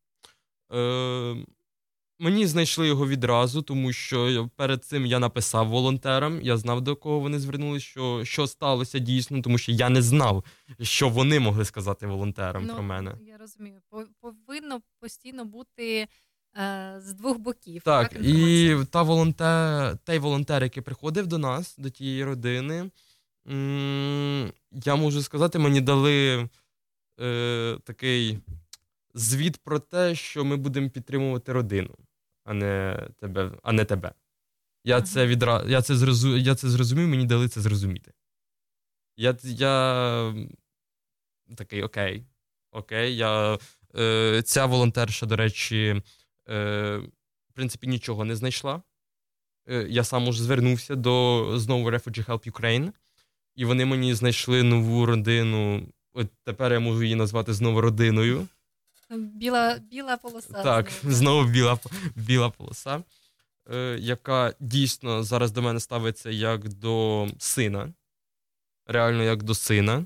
Мені знайшли його відразу, тому що перед цим я написав волонтерам, я знав, до кого вони звернулися, що сталося дійсно, тому що я не знав, що вони могли сказати волонтерам про мене. Я розумію. Повинно постійно бути з двох боків. Так, і той волонтер, який приходив до нас, до тієї родини, я можу сказати, мені дали такий звіт про те, що ми будемо підтримувати родину, а не тебе. Я це зрозумів, мені дали це зрозуміти. Я такий, окей. Ця волонтерша, до речі, в принципі, нічого не знайшла. Я сам уже звернувся до знову Refugee Help Ukraine, і вони мені знайшли нову родину. От тепер я можу її назвати знову родиною. Біла полоса. Так, знову біла полоса, яка дійсно зараз до мене ставиться як до сина. Реально як до сина.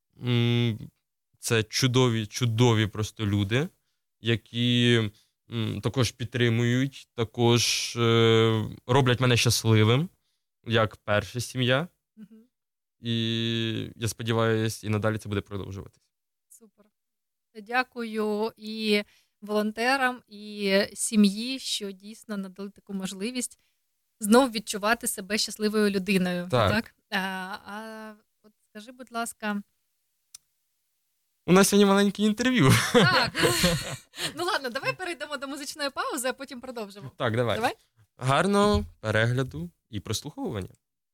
Це чудові просто люди, які також підтримують, також роблять мене щасливим, як перша сім'я. І я сподіваюся, і надалі це буде продовжуватись. Супер. Дякую і волонтерам, і сім'ї, що дійсно надали таку можливість знов відчувати себе щасливою людиною. Так? От скажи, будь ласка... У нас сьогодні маленьке інтерв'ю. Так. Ладно, давай перейдемо до музичної паузи, а потім продовжимо. Так, давай. Гарного перегляду і прослуховування.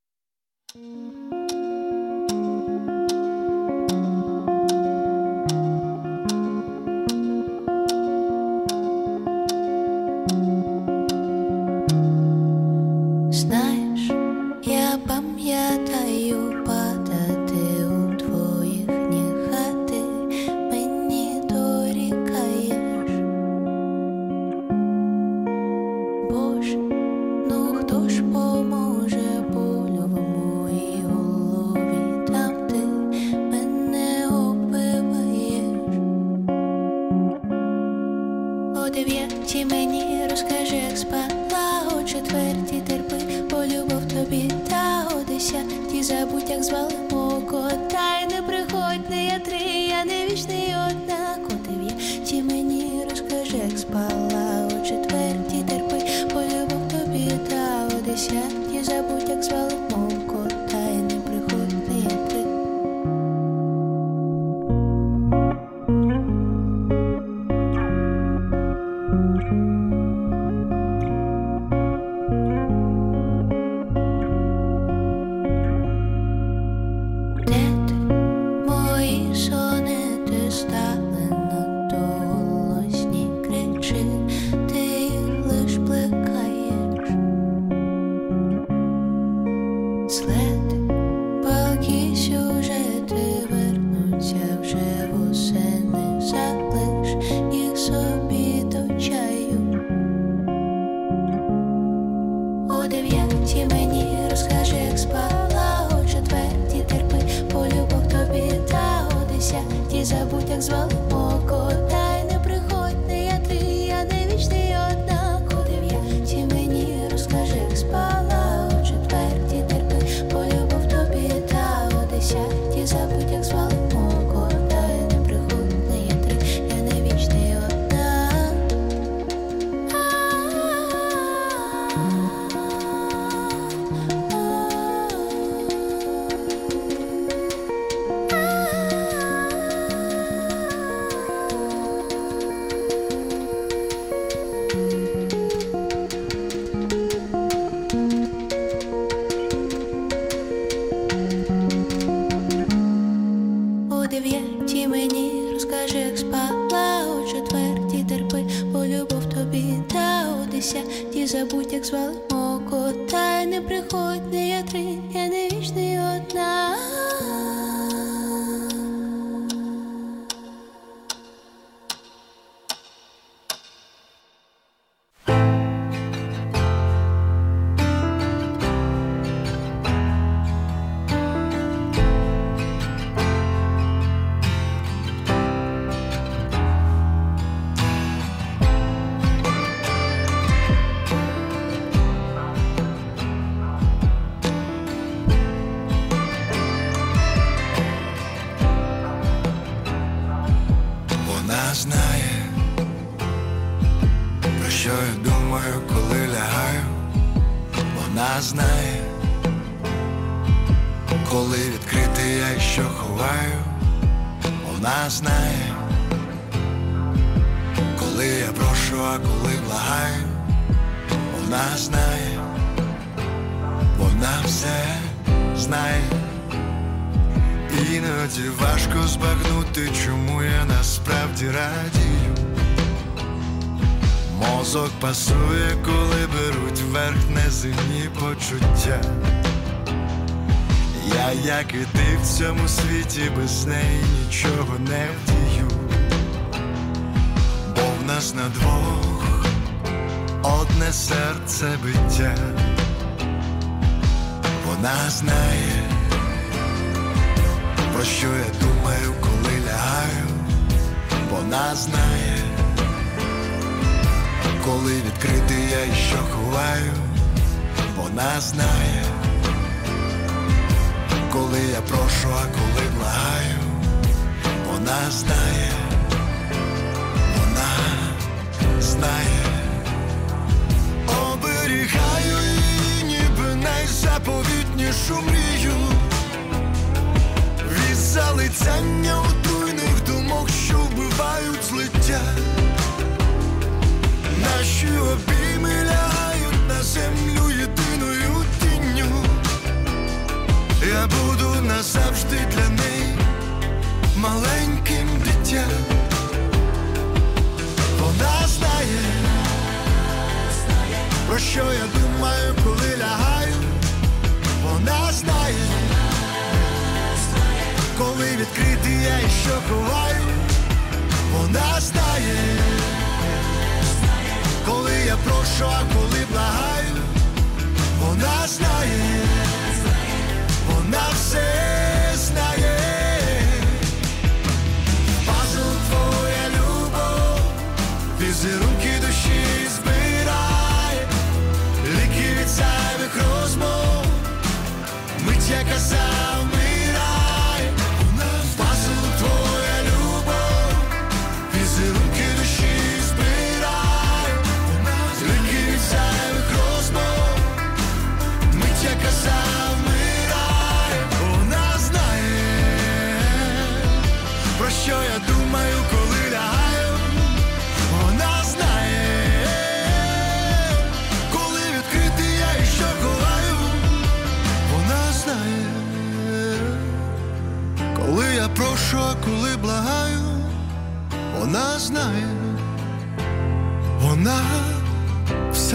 Знаєш, я пам'ятаю падати у твоїх ніг, а ти мені дорікаєш. Боже, ну хто ж поможе О 9 мені розкажи, як спала, о 4 терпи, бо любов тобі, та о 10 забудь, як звали мого кота. І не приходь, не я 3, я не вічний однак. О 9 мені розкажи, як спала, о 4 терпи, бо любов тобі, та о 10 забудь, як звали мого кота. І не приходь, не я 3. Забудь, як звали мого кота. І не приходь, не я 3, я не вічний одна. Іноді важко збагнути, чому я насправді радію. Мозок пасує, коли беруть верх неземні почуття. Я, як і ти, в цьому світі без неї нічого не вдію. Бо в нас на двох одне серце биття. Вона знає, про що я думаю, коли лягаю. Вона знає, коли відкритий я і що ховаю. Вона знає, коли я прошу, а коли благаю. Вона знає, вона знає. Оберігаю її, ніби найзаповітнішу мрію. Від залицяння отруйних думок, що вбивають злиття. Наші обійми лягають на землю єдиною тінню. Я буду назавжди для неї маленьким дитям. Вона знає, про що я думаю, коли лягаю. Вона знає, коли відкритий я і що ховаю. Вона знає, коли я прошу, а коли благаю. Вона знає, вона все знає. Пазл твоя любов, візерунки душі збирає, ліки від зайвих розмов, мить яка завмирає, пазл твоя любов, візерунки душі збирає, ліки від зайвих розмов, мить яка завмирає, вона знає, про що я думаю, коли лягаю, вона знає, коли відкритий я і що ховаю, вона знає, коли я прошу, а коли благаю, вона знає, вона все.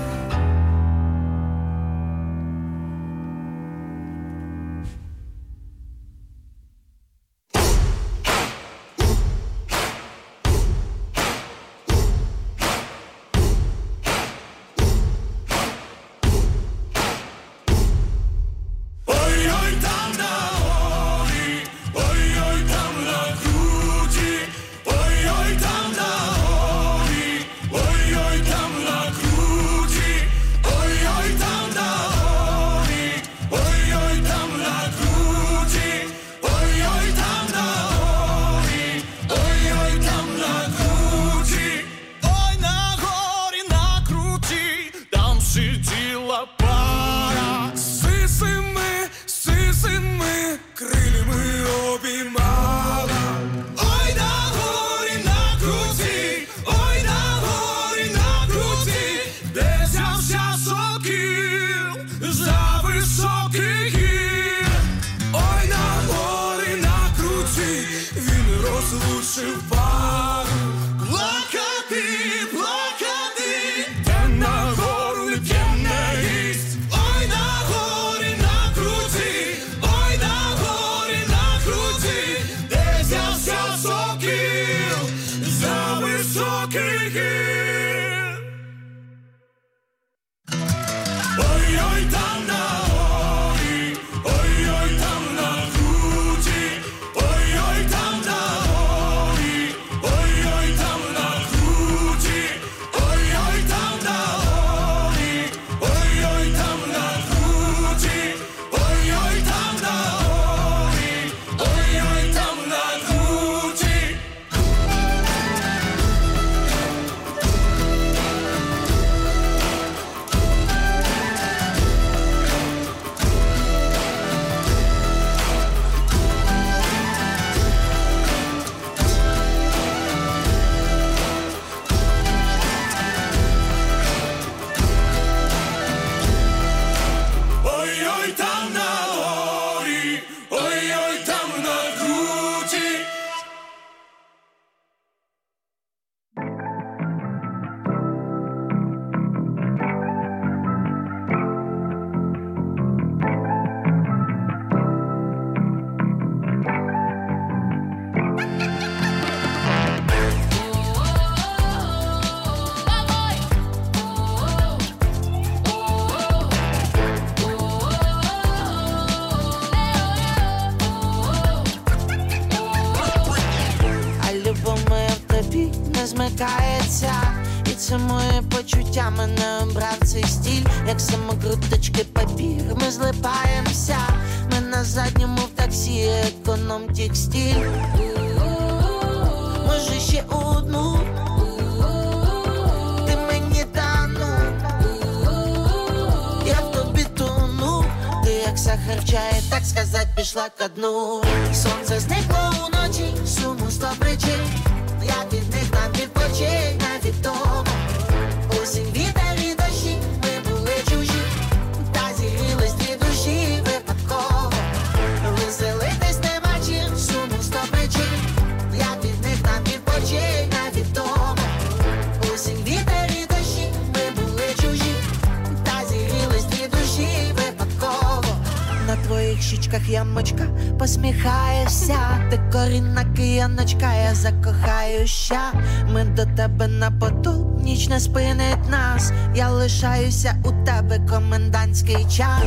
Ой-ой, там на горі, ой-ой, там на круті, ой-ой, там на горі, ой-ой, там на круті, ой-ой, там на горі, ой-ой, там на круті, ой-ой, там на горі, ой-ой, там на круті, ой, на горі, на круті, там сиділа пара. Сисими крилями обіймала. Ой, на горі, на круті, ой, на горі, на круті, де взявся сокіл за високий гір. Ой, на горі, на круті, він розлучив пару. Плакати, плакати, де на гору не п'є, не їсть. Ой, на горі, на круті, ой, на горі, на круті, де взявся сокіл за високий гір. Ой-ой, там на горі, ой-ой, там на круті, ой-ой, там на горі, ой-ой, там на круті, ой-ой, там на горі, ой-ой, там на круті, ой-ой, там на горі, ой-ой, там на круті. Ой-ой, там на горі, ой-ой, там на круті. А любов моя в тобі не змикається, і це моє почуття мене обрав цей стиль, як самокруточки папір, ми злипаємося, ми на задньому в таксі, економ текстиль. Може ще одну, ти мені тану, я в тобі тону, ти як сахар в чаї, так сказать, пішла ко дну. Сонце зникло уночі, суму 100 причин, я від них там відпочинь, невідомо. Осінь, вітер і дощі, ми були чужі, та зігрілись дві душі випадково. Веселитись нема чим, суму 100 причин, я від них там відпочинь, невідомо. Осінь, вітер і дощі, ми були чужі, та зігрілись дві душі випадково. На твоїх щічках ямочка, посміхаєшся, ти корінна кияночка, я закохаюся. Ми до тебе на поту, ніч не спинить нас, я лишаюся у тебе, комендантський час.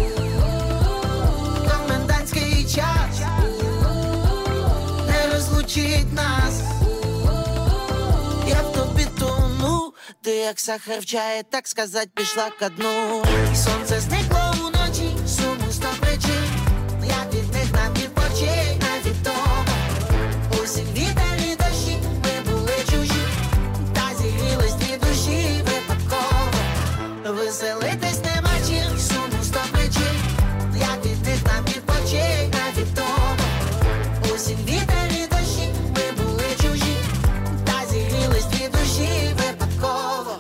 Комендантський час не розлучить нас, я в тобі як сахар в чаї, так сказать, пішла ко дну. І сонце зникло уночі, суму 100 причин, як від них нам відпочинь, невідомо. Осінь, вітер і дощі, ми були чужі, та зігрілись дві душі випадково. Веселитись нема чим, суму 100 причин, як від них нам відпочинь, невідомо. Осінь, вітер і дощі, ми були чужі, та зігрілись дві душі випадково.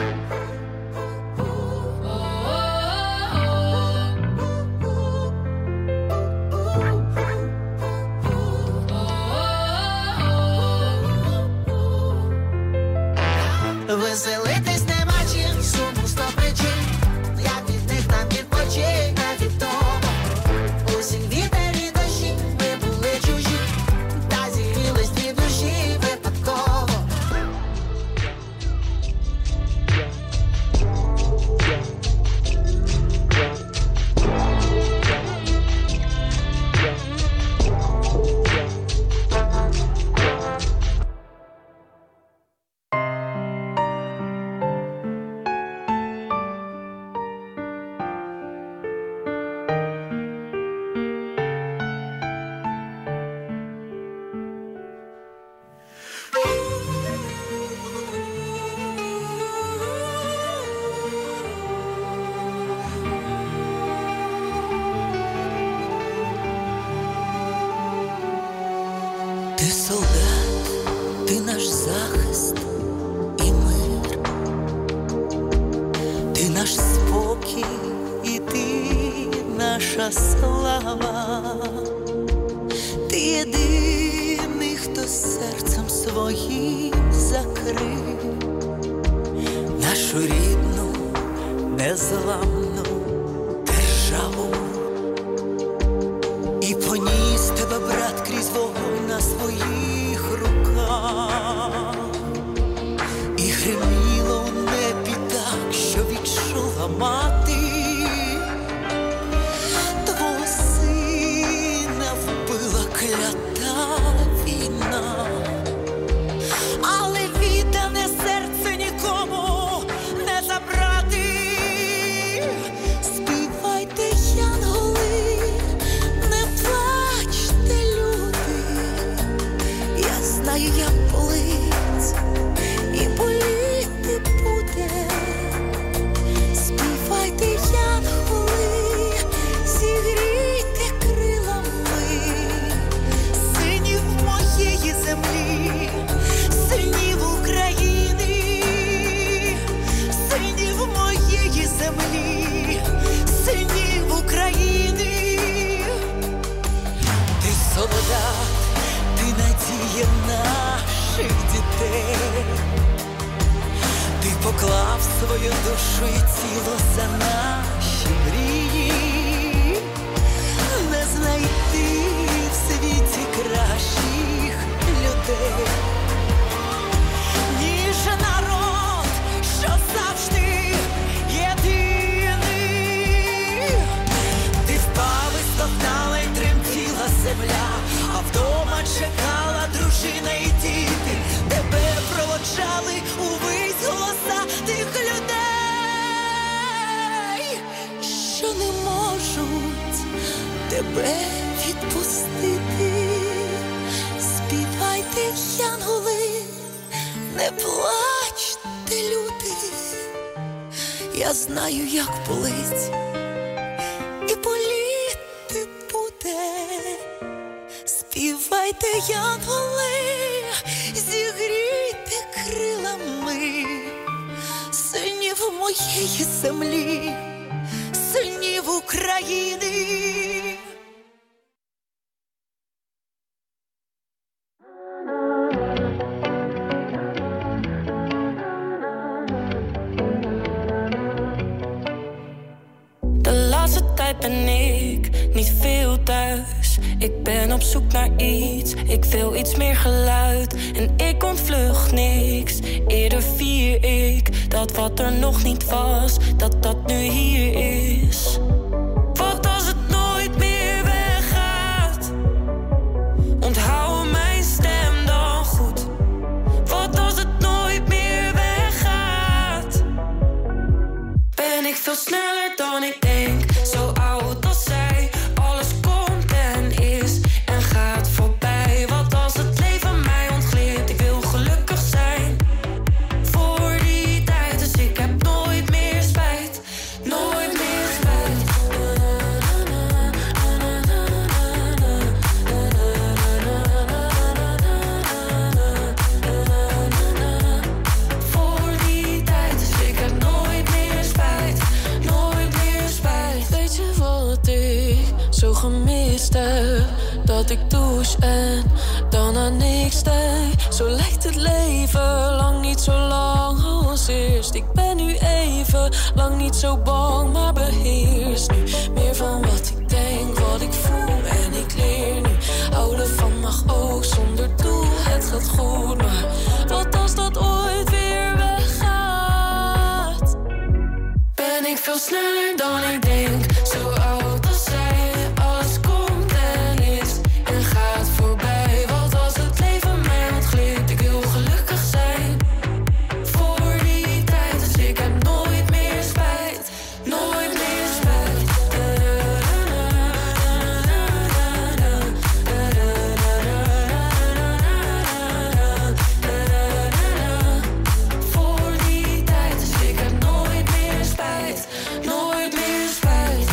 Веселитись нема чим, суму 100 причин, як від них нам відпочинь, невідомо. Осінь, вітер і дощі, ми були чужі, та зігрілись дві душі випадково. Ти солдат, ти наш захист і мир, ти наш спокій і ти наша слава. Ти єдиний, хто серцем своїм закрив нашу рідну, незламну державу. І поніс тебе, брат, крізь вогонь на своїх руках. І гриміло в небі так, що відчула мати. Твого сина вбила клята війна, але віддане серце нікому не забрати. Співайте, янголи, не плачте, люди. Я знаю, як болить і боліти буде. Співайте, янголи, зігрійте крилами синів моєї землі, синів України, синів моєї землі, синів України. Ти солдат, ти надія наших дітей. Ти поклав свою душу і тіло за наші мрії. Не знайти в світі кращих людей, ніж народ, що завжди єдиний. Ти впав і стогнала, й тремтіла земля, а вдома чекала дружина і діти. Тебе проводжали увесь голоса тих людей, що не можуть тебе відпустити. Співайте, янголи, не плачте, люди. Я знаю, як болить і боліти буде. Співайте, янголи, зігрійте крилами синів моєї землі, синів України. De laatste tijd ben ik niet veel thuis. Ik ben op zoek naar iets, ik wil iets meer geluid. En ik ontvlucht niks, eerder vier ik dat wat er nog niet was, dat dat nu hier is. Wat als het nooit meer weggaat? Onthoud mijn stem dan goed. Wat als het nooit meer weggaat? dat ik douche en dan aan niks denk. Zo lijkt het leven lang niet zo lang als eerst. Ik ben nu even lang niet zo bang, maar beheers nu meer van wat ik denk, wat ik voel. En ik leer nu, houden van mag ook zonder doel. Het gaat goed, maar wat als dat ooit weer weggaat? Ben ik veel sneller dan ik denk, zo oud als zij. Alles komt en is en gaat voorbij. Wat als het leven mij ontglipt, ik wil gelukkig zijn. Voor die tijd, dus ik heb nooit meer spijt. Nooit meer spijt. Voor die tijd, dus ik heb nooit meer spijt. Nooit meer spijt.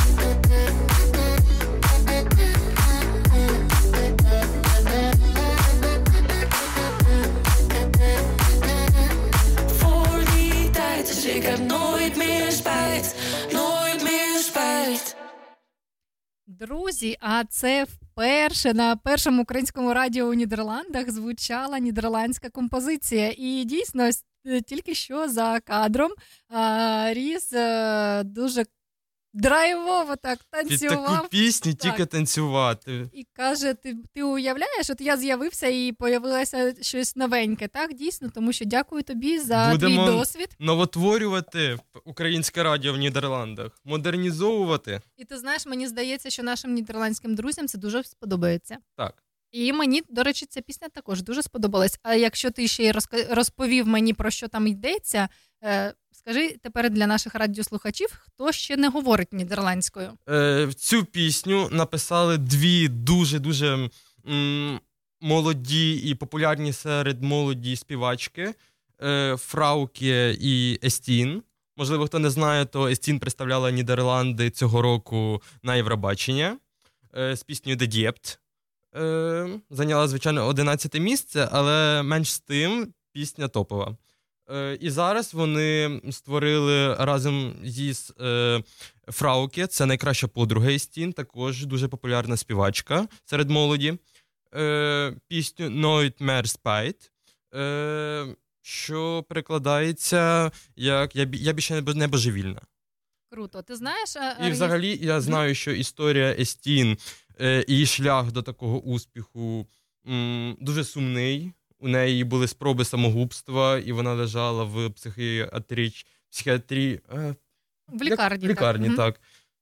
Voor die tijd, dus ik heb nooit meer spijt. Nooit meer spijt. Друзі, а це вперше на першому українському радіо у Нідерландах звучала нідерландська композиція. І дійсно, тільки що за кадром Ріс дуже драйвово так Під танцював. таку пісню Так. тільки танцювати. І каже, ти уявляєш, от я з'явився і появилося щось новеньке, так? Дійсно, тому що дякую тобі за Будемо твій досвід. новотворювати українське радіо в Нідерландах, модернізовувати. І ти знаєш, мені здається, що нашим нідерландським друзям це дуже сподобається. Так. І мені, до речі, ця пісня також дуже сподобалась. А якщо ти ще й розповів мені, про що там йдеться, скажи тепер для наших радіослухачів, хто ще не говорить нідерландською? Цю пісню написали дві дуже-дуже молоді і популярні серед молоді співачки Фрауке і Естін. Можливо, хто не знає, то Естін представляла Нідерланди цього року на Євробачення з піснею «De Diept». Зайняла, звичайно, 11 місце, але менш з тим пісня топова. І зараз вони створили разом зі Фрауке, це найкраща подруга Естін, також дуже популярна співачка серед молоді, пісню «Nooit meer spijt», що перекладається як «Я більше не божевільна». Круто. Ти знаєш... І взагалі я знаю, що історія Естін, її шлях до такого успіху дуже сумний. У неї були спроби самогубства, і вона лежала в психіатрії... В лікарні. В лікарні, так.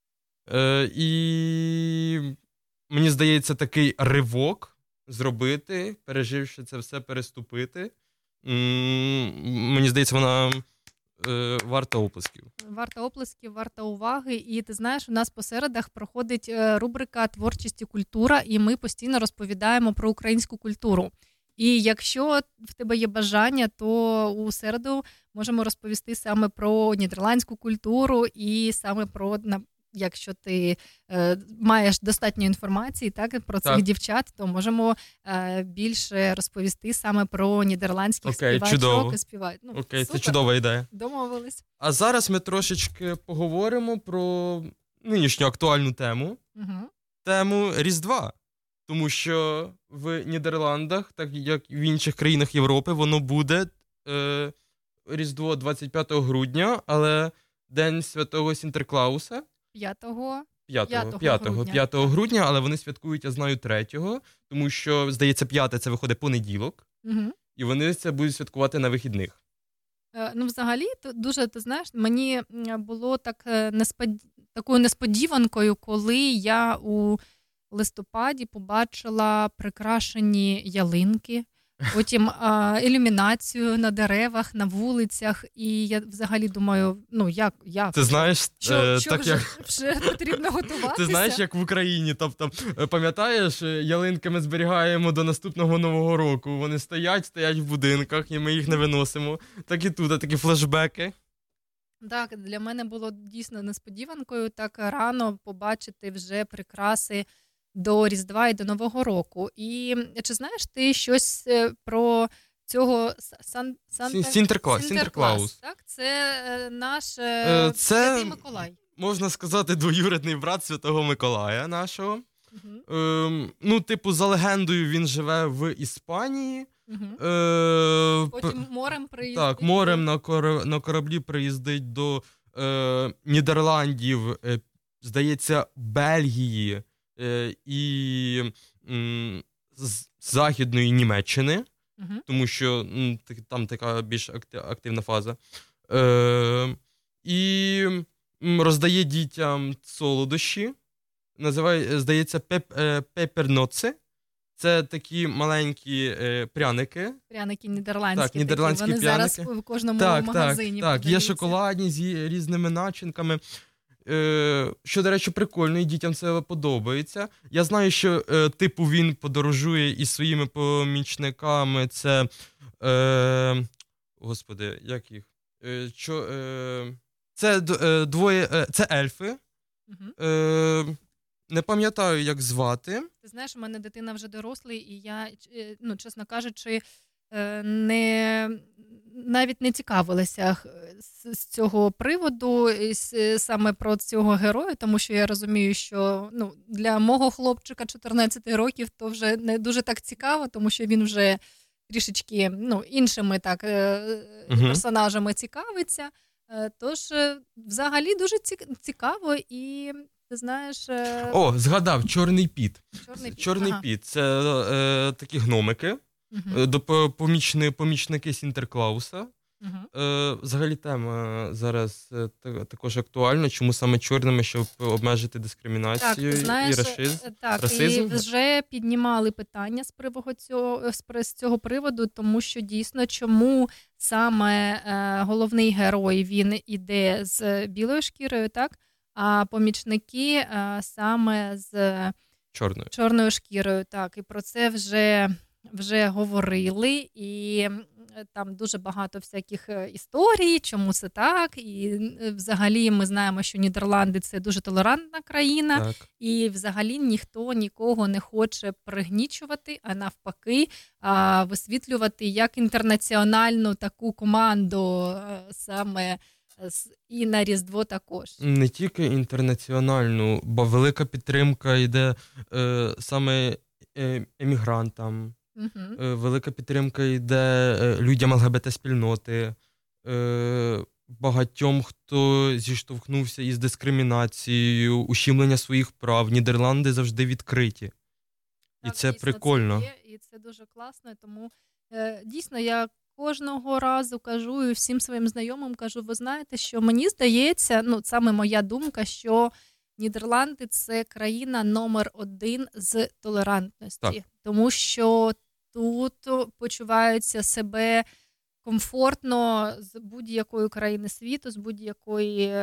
І мені здається, такий ривок зробити, переживши це все, переступити. Мені здається, вона варта оплесків. Варта оплесків, варта уваги. І ти знаєш, у нас по середах проходить рубрика «Творчість і культура», і ми постійно розповідаємо про українську культуру. І якщо в тебе є бажання, то у середу можемо розповісти саме про нідерландську культуру і саме про, якщо ти маєш достатньо інформації так, про цих дівчат, то можемо більше розповісти саме про нідерландських співачок і співачок. Окей, це чудова ідея. Домовились. А зараз ми трошечки поговоримо про нинішню актуальну тему. Тему Різдва. Тому що в Нідерландах, так як в інших країнах Європи, воно буде Різдво 25 грудня, але День Святого Сінтерклауса 5 грудня, але вони святкують, я знаю, 3-го, тому що, здається, 5 це виходить понеділок, і вони це будуть святкувати на вихідних. Ну, взагалі, дуже, ти знаєш, мені було такою несподіванкою, коли я у листопаді побачила прикрашені ялинки, потім ілюмінацію на деревах, на вулицях, і я взагалі думаю, як? Ти знаєш, вже потрібно готуватися? Ти знаєш, як в Україні, тобто, пам'ятаєш, ялинки ми зберігаємо до наступного Нового року, вони стоять в будинках, і ми їх не виносимо, так і тут, такі флешбеки. Так, для мене було дійсно несподіванкою так рано побачити вже прикраси до Різдва і до Нового року. І чи знаєш ти щось про цього Сінтерклаус? Так, це наш Святий Миколай. Можна сказати, двоюрідний брат Святого Миколая нашого. За легендою, він живе в Іспанії. Потім морем приїздить. Так, морем на кораблі приїздить до Нідерландів, здається, Бельгії і Західної Німеччини, тому що там така більш активна фаза. І роздає дітям солодощі, здається, пеперноци. Це такі маленькі пряники. Пряники нідерландські. Так, нідерландські такі. Вони пряники. зараз в кожному магазині Так, є подаються. шоколадні з різними начинками. Що, до речі, прикольно, і дітям це подобається. Я знаю, що він подорожує із своїми помічниками. Це, господи, як їх? Це двоє, це ельфи. Не пам'ятаю, як звати. Ти знаєш, у мене дитина вже дорослий, і я, чесно кажучи, навіть не цікавилася з цього приводу, саме про цього героя, тому що я розумію, що для мого хлопчика 14 років то вже не дуже так цікаво, тому що він вже трішечки іншими персонажами цікавиться. Тож, взагалі, дуже цікаво і... Ти знаєш... згадав, Чорний Піт. Чорний Піт. Це такі гномики, помічники Сінтерклауса. Взагалі тема зараз також актуальна. Чому саме чорними, щоб обмежити дискримінацію і расизм? Так, і вже піднімали питання з цього приводу, тому що дійсно, чому саме головний герой, він іде з білою шкірою, так? А помічники саме з чорною шкірою. Так, і про це вже говорили, і там дуже багато всяких історій, чому це так. І взагалі ми знаємо, що Нідерланди – це дуже толерантна країна, так. І взагалі ніхто нікого не хоче пригнічувати, а навпаки висвітлювати як інтернаціональну таку команду саме і на Різдво також. Не тільки інтернаціональну, бо велика підтримка йде саме емігрантам, велика підтримка йде людям ЛГБТ-спільноти, багатьом, хто зіштовхнувся із дискримінацією, ущемлення своїх прав. Нідерланди завжди відкриті. Так, і це прикольно. Це є, і це дуже класно, тому дійсно я кожного разу кажу і всім своїм знайомим кажу, ви знаєте, що мені здається, саме моя думка, що Нідерланди – це країна номер 1 з толерантності. Так. Тому що тут почуваються себе комфортно з будь-якої країни світу, з будь-якої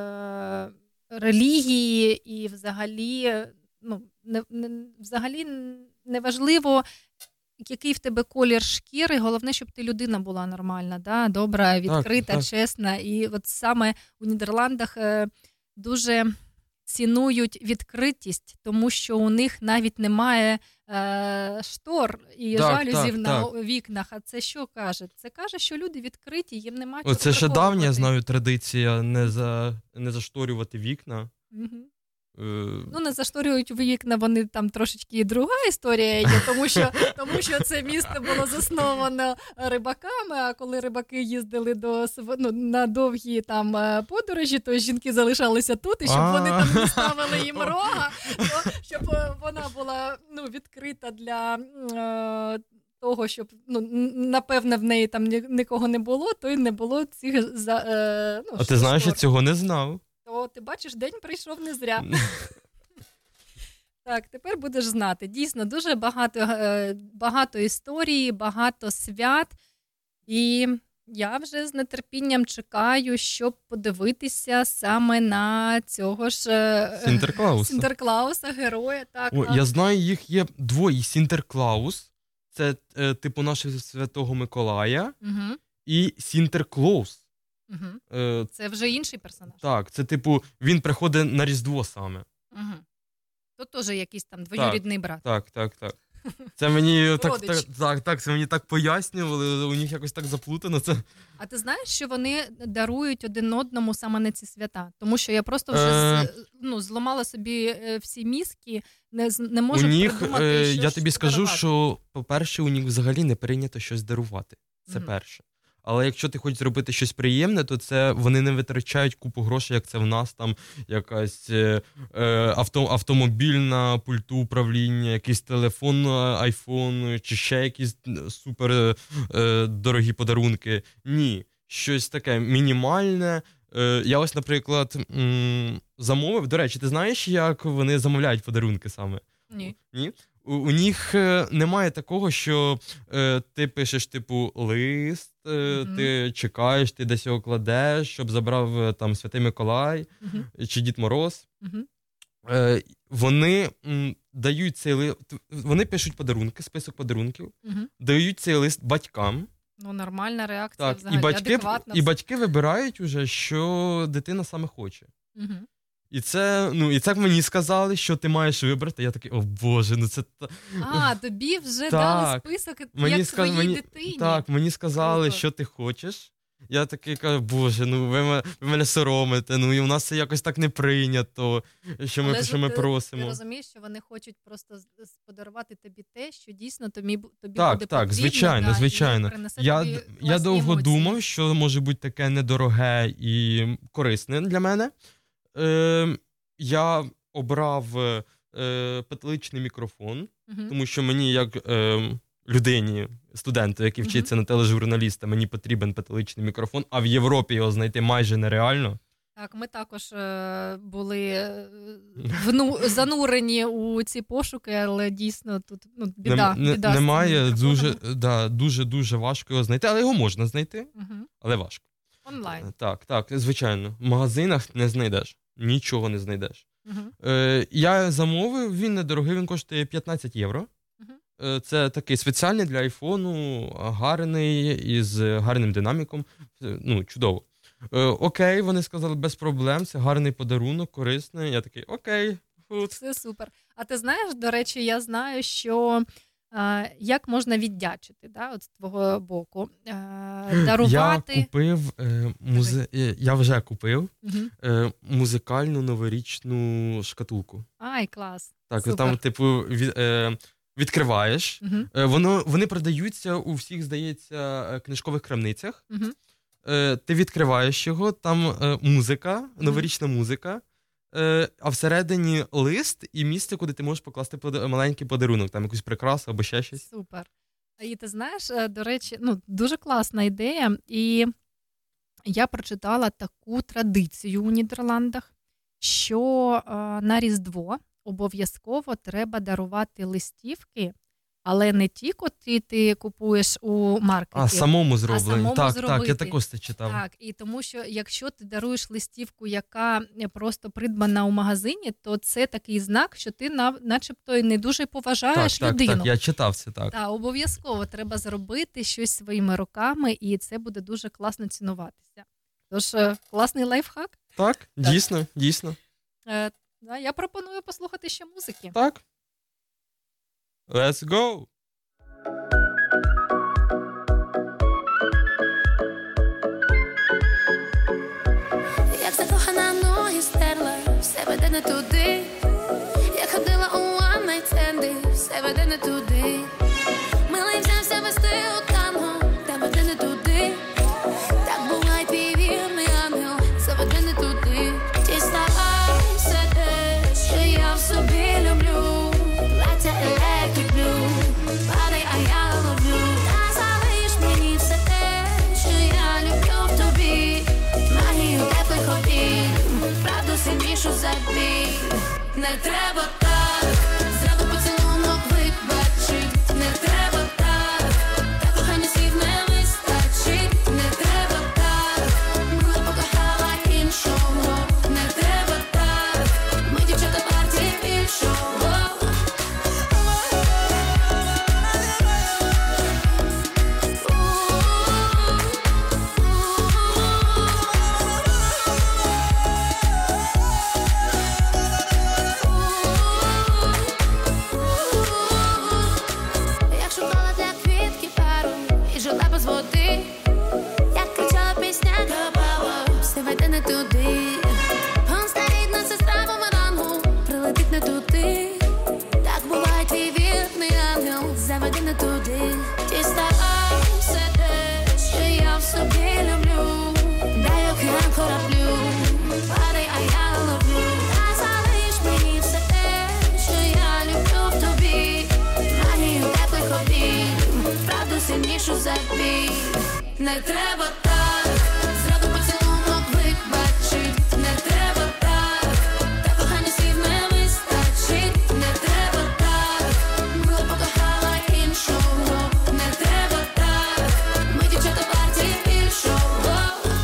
релігії, і взагалі, взагалі неважливо, який в тебе колір шкіри, головне, щоб ти людина була нормальна, да? Добра, відкрита, так. Чесна. І от саме у Нідерландах дуже цінують відкритість, тому що у них навіть немає штор і жалюзів на вікнах. А це що каже? Це каже, що люди відкриті, їм немає чого приховувати. Це ще давня, знаю, традиція не зашторювати вікна. Угу. Не зашторюють вікна, вони там трошечки і друга історія є, тому що це місто було засновано рибаками, а коли рибаки їздили на довгі там подорожі, то жінки залишалися тут, і щоб вони там не ставили їм рога, щоб вона була відкрита для того, щоб, напевне, в неї там нікого не було, то й не було цих А ти знаєш, я цього не знав. То ти бачиш, день прийшов не зря. Так, тепер будеш знати. Дійсно, дуже багато історій, багато свят. І я вже з нетерпінням чекаю, щоб подивитися саме на цього ж Сінтерклауса, героя. Так, я знаю, їх є двоє. Сінтерклаус, це типу нашого Святого Миколая, і Сінтерклоус. Угу. Це вже інший персонаж. Так, це типу, він приходить на Різдво саме. Угу. То теж якийсь там двоюрідний брат. Так. Це мені Родич. це мені так пояснювали, у них якось так заплутано це. А ти знаєш, що вони дарують один одному саме на ці свята? Тому що я просто вже зламала собі всі мізки, не можу придумати, що я тобі скажу, дарувати. що, по-перше, у них взагалі не прийнято щось дарувати. Це перше. Але якщо ти хочеш зробити щось приємне, то це вони не витрачають купу грошей, як це в нас, там якась автомобільна пульту управління, якийсь телефон, айфон, чи ще якісь супер дорогі подарунки. Ні, щось таке мінімальне. Я ось, наприклад, замовив. До речі, ти знаєш, як вони замовляють подарунки саме? Ні. Ні? У них немає такого, що ти пишеш, типу, лист, ти чекаєш, ти десь його кладеш, щоб забрав там Святий Миколай чи Дід Мороз. Вони дають цей лист, вони пишуть подарунки, список подарунків, дають цей лист батькам. Ну, нормальна реакція Так, взагалі, адекватна. І батьки вибирають уже, що дитина саме хоче. І це мені сказали, що ти маєш вибрати. Я такий, о Боже, це... Тобі вже дали список, як твоїй дитині. Так, мені сказали, що ти хочеш. Я такий кажу, Боже, ви мене соромите, і у нас це якось так не прийнято, що ми просимо. Ти розумієш, що вони хочуть просто подарувати тобі те, що дійсно тобі буде потрібно. Так, звичайно. Я довго думав, що може бути таке недороге і корисне для мене. Я обрав петличний мікрофон, тому що мені, як людині, студенту, який вчиться на тележурналіста, мені потрібен петличний мікрофон, а в Європі його знайти майже нереально. Так, ми також були занурені у ці пошуки, але дійсно тут біда. Немає, дуже важко його знайти, але його можна знайти, але важко. Онлайн. Так, звичайно. В магазинах не знайдеш. Нічого не знайдеш. Я замовив, він недорогий, він коштує 15 євро. Це такий спеціальний для айфону, гарний, із гарним динаміком. Чудово. Окей, вони сказали, без проблем, це гарний подарунок, корисний. Я такий, окей. Це супер. А ти знаєш, до речі, я знаю, що як можна віддячити, от з твого боку, дарувати... Я вже купив музикальну новорічну шкатулку. Ай, клас. Так, супер. Там, відкриваєш. Вони продаються у всіх, здається, книжкових крамницях. Ти відкриваєш його, там музика, новорічна музика, а всередині лист і місце, куди ти можеш покласти маленький подарунок, там якусь прикрасу або ще щось. Супер. І ти знаєш, до речі, дуже класна ідея. І я прочитала таку традицію у Нідерландах, що на Різдво обов'язково треба дарувати листівки, але не ті, котрі ти купуєш у маркеті, а самому зроблені. Так, я також це читав. Так, і тому що якщо ти даруєш листівку, яка просто придбана у магазині, то це такий знак, що ти начебто не дуже поважаєш людину. Так, я читав це, так. Так, обов'язково треба зробити щось своїми руками, і це буде дуже класно цінуватися. Тож, класний лайфхак. Так, дійсно. Я пропоную послухати ще музики. Так. Let's go! Як закохана, ноги стерла, все веде не туди. Я ходила у one-night-стенди, все веде не туди. Милий взявся вести у танго, та веде не туди. Так буває твій вірний ангел, все веде не туди. Діставайся те, що я в собі люблю. Плаття electric blue, падай, а я ловлю. Та залиш мені все те, що я люблю в тобі. Магію теплих обійм, правду сильнішу за біль. Не треба так, зраду поцілунок вибачить. Не треба так, та кохання слів не вистачить. Не треба так, була покохала іншого. Не треба так, ми дівчата партії більшого. туди. Помста рідна сестра бумерангу прилетить не туди. Так буває твій вірний ангел, заведи не туди. Діставай все те, що я в собі люблю. Дай океан кораблю, падай, а я ловлю. Та залиш мені все те, що я люблю в тобі. Магію теплих обійм, правду сильнішу за бій. Не треба так, зраду поцілунок вибачить. Не треба так, та кохання слів не вистачить. Не треба так, мила покохала іншого. Не треба так, ми дівчата варті більшого.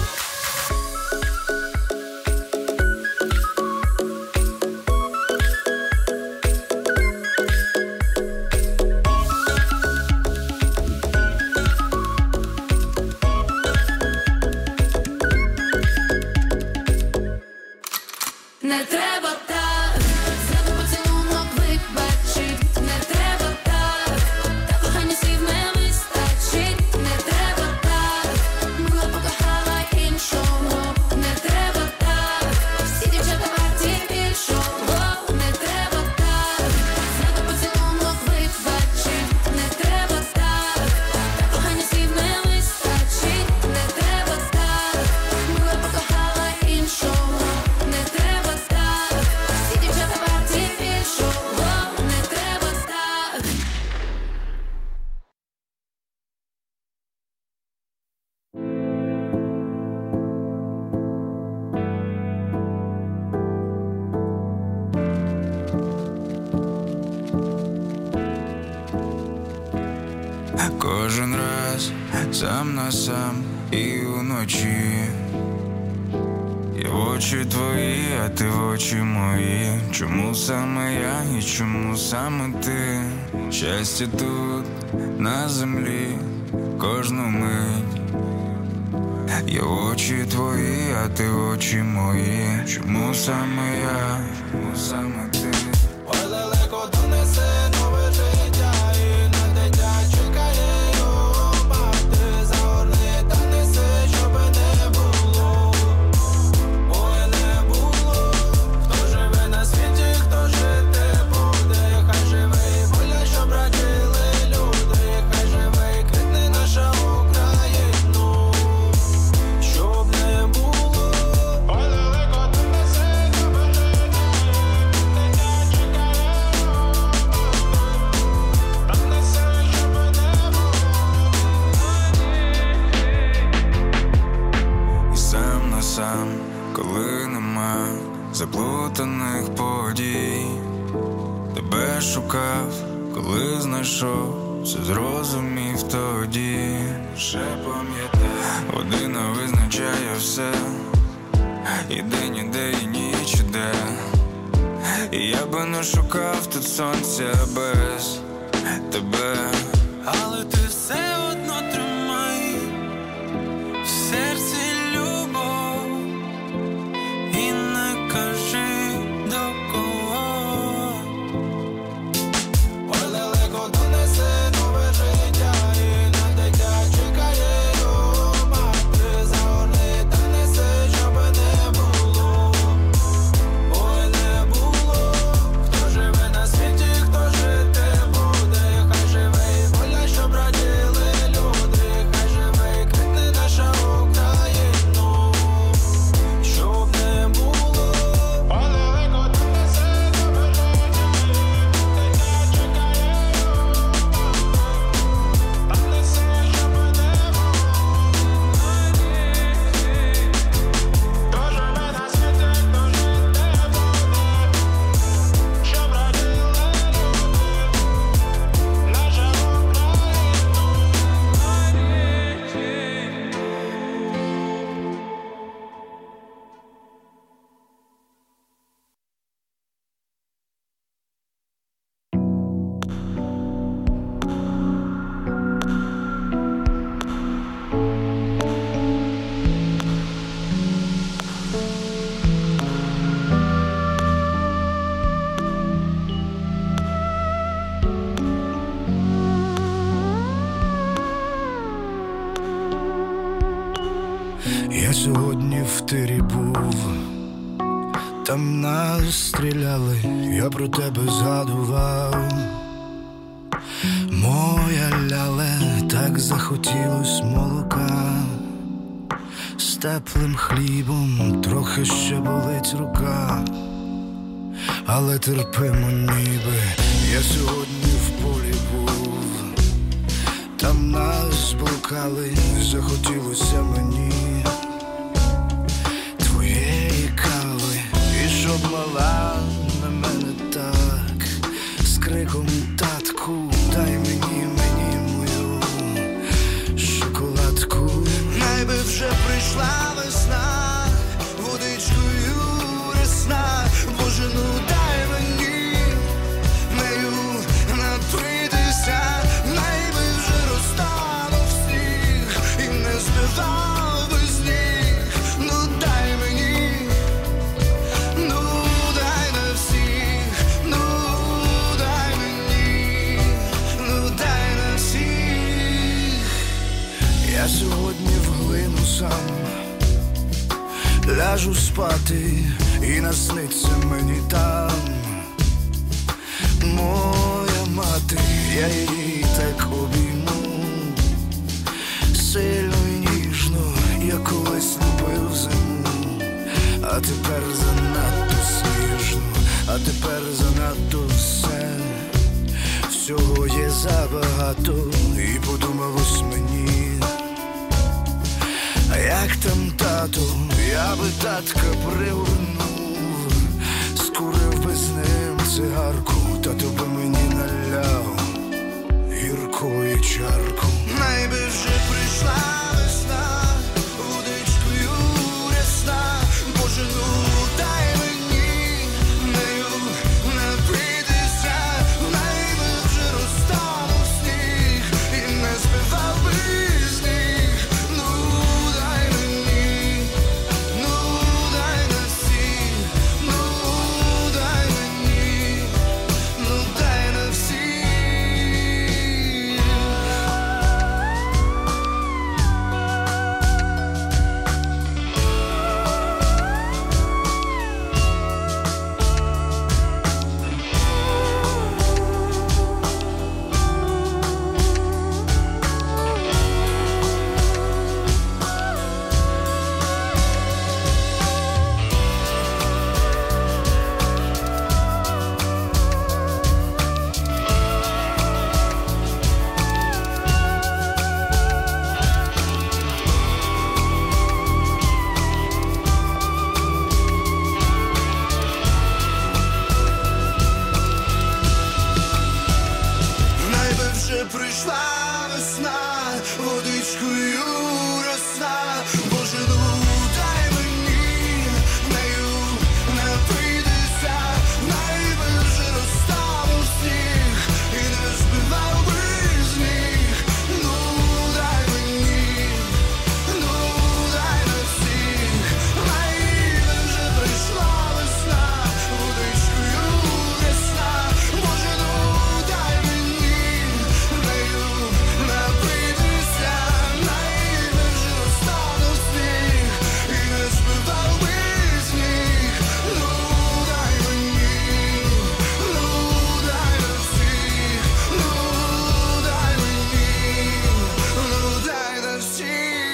Не треба так, зраду поцілунок вибачить. Не треба так, та кохання слів не вистачить. Не треба так, мила покохала іншого. Не треба так, всі дівчата варті більшого. Не треба так, зраду поцілунок вибачить. Не треба так, та кохання слів не вистачить. Не треба так, мила покохала іншого. Не треба так, всі дівчата варті більшого. Не треба так. Кожен раз сам на сам і уночі. Я в очі твої, а ти в очі мої. Чому саме я і чому саме ти? Щастя тут, на землі, кожну мить. Я в очі твої, а ти в очі мої. Чому саме я, чому саме ти? Ой, далеко донесе нове життя, і на дитя чекає його мати. Загорни та несе, щоб не було. Ой, не було. Хто живе на світі, хто жити буде. Хай живе і воля, щоб раділи люди. Хай живе і квітне наша Україну, щоб не було. Ой, далеко донесе нове життя, дитя чекає його мати. Та несе, щоб не було. І сам на сам, коли нема заплутаних подій. Тебе шукав, коли знайшов, все зрозумів тоді. Ще пам'ятаю, година визначає все. І день іде, і ніч іде. І я би не шукав тут сонця без тебе. Але ти все одно тримай в серці любов і не кажи до кого. Ой, далеко донесе нове життя, і на дитя чекає його мати. Загорни та несе, щоб не було. Ой, не було. Хто живе на світі, хто жити буде. Хай живе і воля, щоб раділи сьогодні в тирі був. Там нас стріляли, я про тебе згадував. Моя ляле, так захотілось молока. З теплим хлібом трохи ще болить рука. Але терпимо ніби, я сьогодні в полі був. Там нас блукали, захотілося мені твоєї кави. І щоб мала на мене так, з криком татку, дай мені мою шоколадку. Найби вже прийшла весна, водичкою рясна. Боже, ну дай мені нею напитися. Найби вже розтанув сніг і не збивав без ніг. Ну дай мені, ну дай на всіх, ну дай мені, ну дай на всіх. Я сьогодні в глину сам ляжу спати, і насниться мені там моя мати. Я її так обійму сильно і ніжно, я колись любив зиму. А тепер занадто сніжно, а тепер занадто все. Всього є забагато, і подумалось мені, а як там тато, я би татка пригорнув, скурив би з ним цигарку, тато би мені наляв гіркої чарку. Найби вже прийшла весна, водичкою рясна. Боже, ну дай мені нею напитися. Найби вже розтанув сніг і не збивав би з ніг. Ну дай мені, ну дай на всіх, ну дай мені, ну дай на всіх. Найби вже прийшла весна, водичкою росна. Боже, ну дай мені нею напитися. Найби вже розтанув сніг і не збивав би з ніг. Ну дай мені, ну дай на всіх. Найби вже прийшла весна, водичкою росна. Боже, ну дай мені нею напитися. Найби вже розтанув сніг і не збивав би з ніг. Ну дай мені, ну дай на всіх, ну дай мені, ну дай на всіх.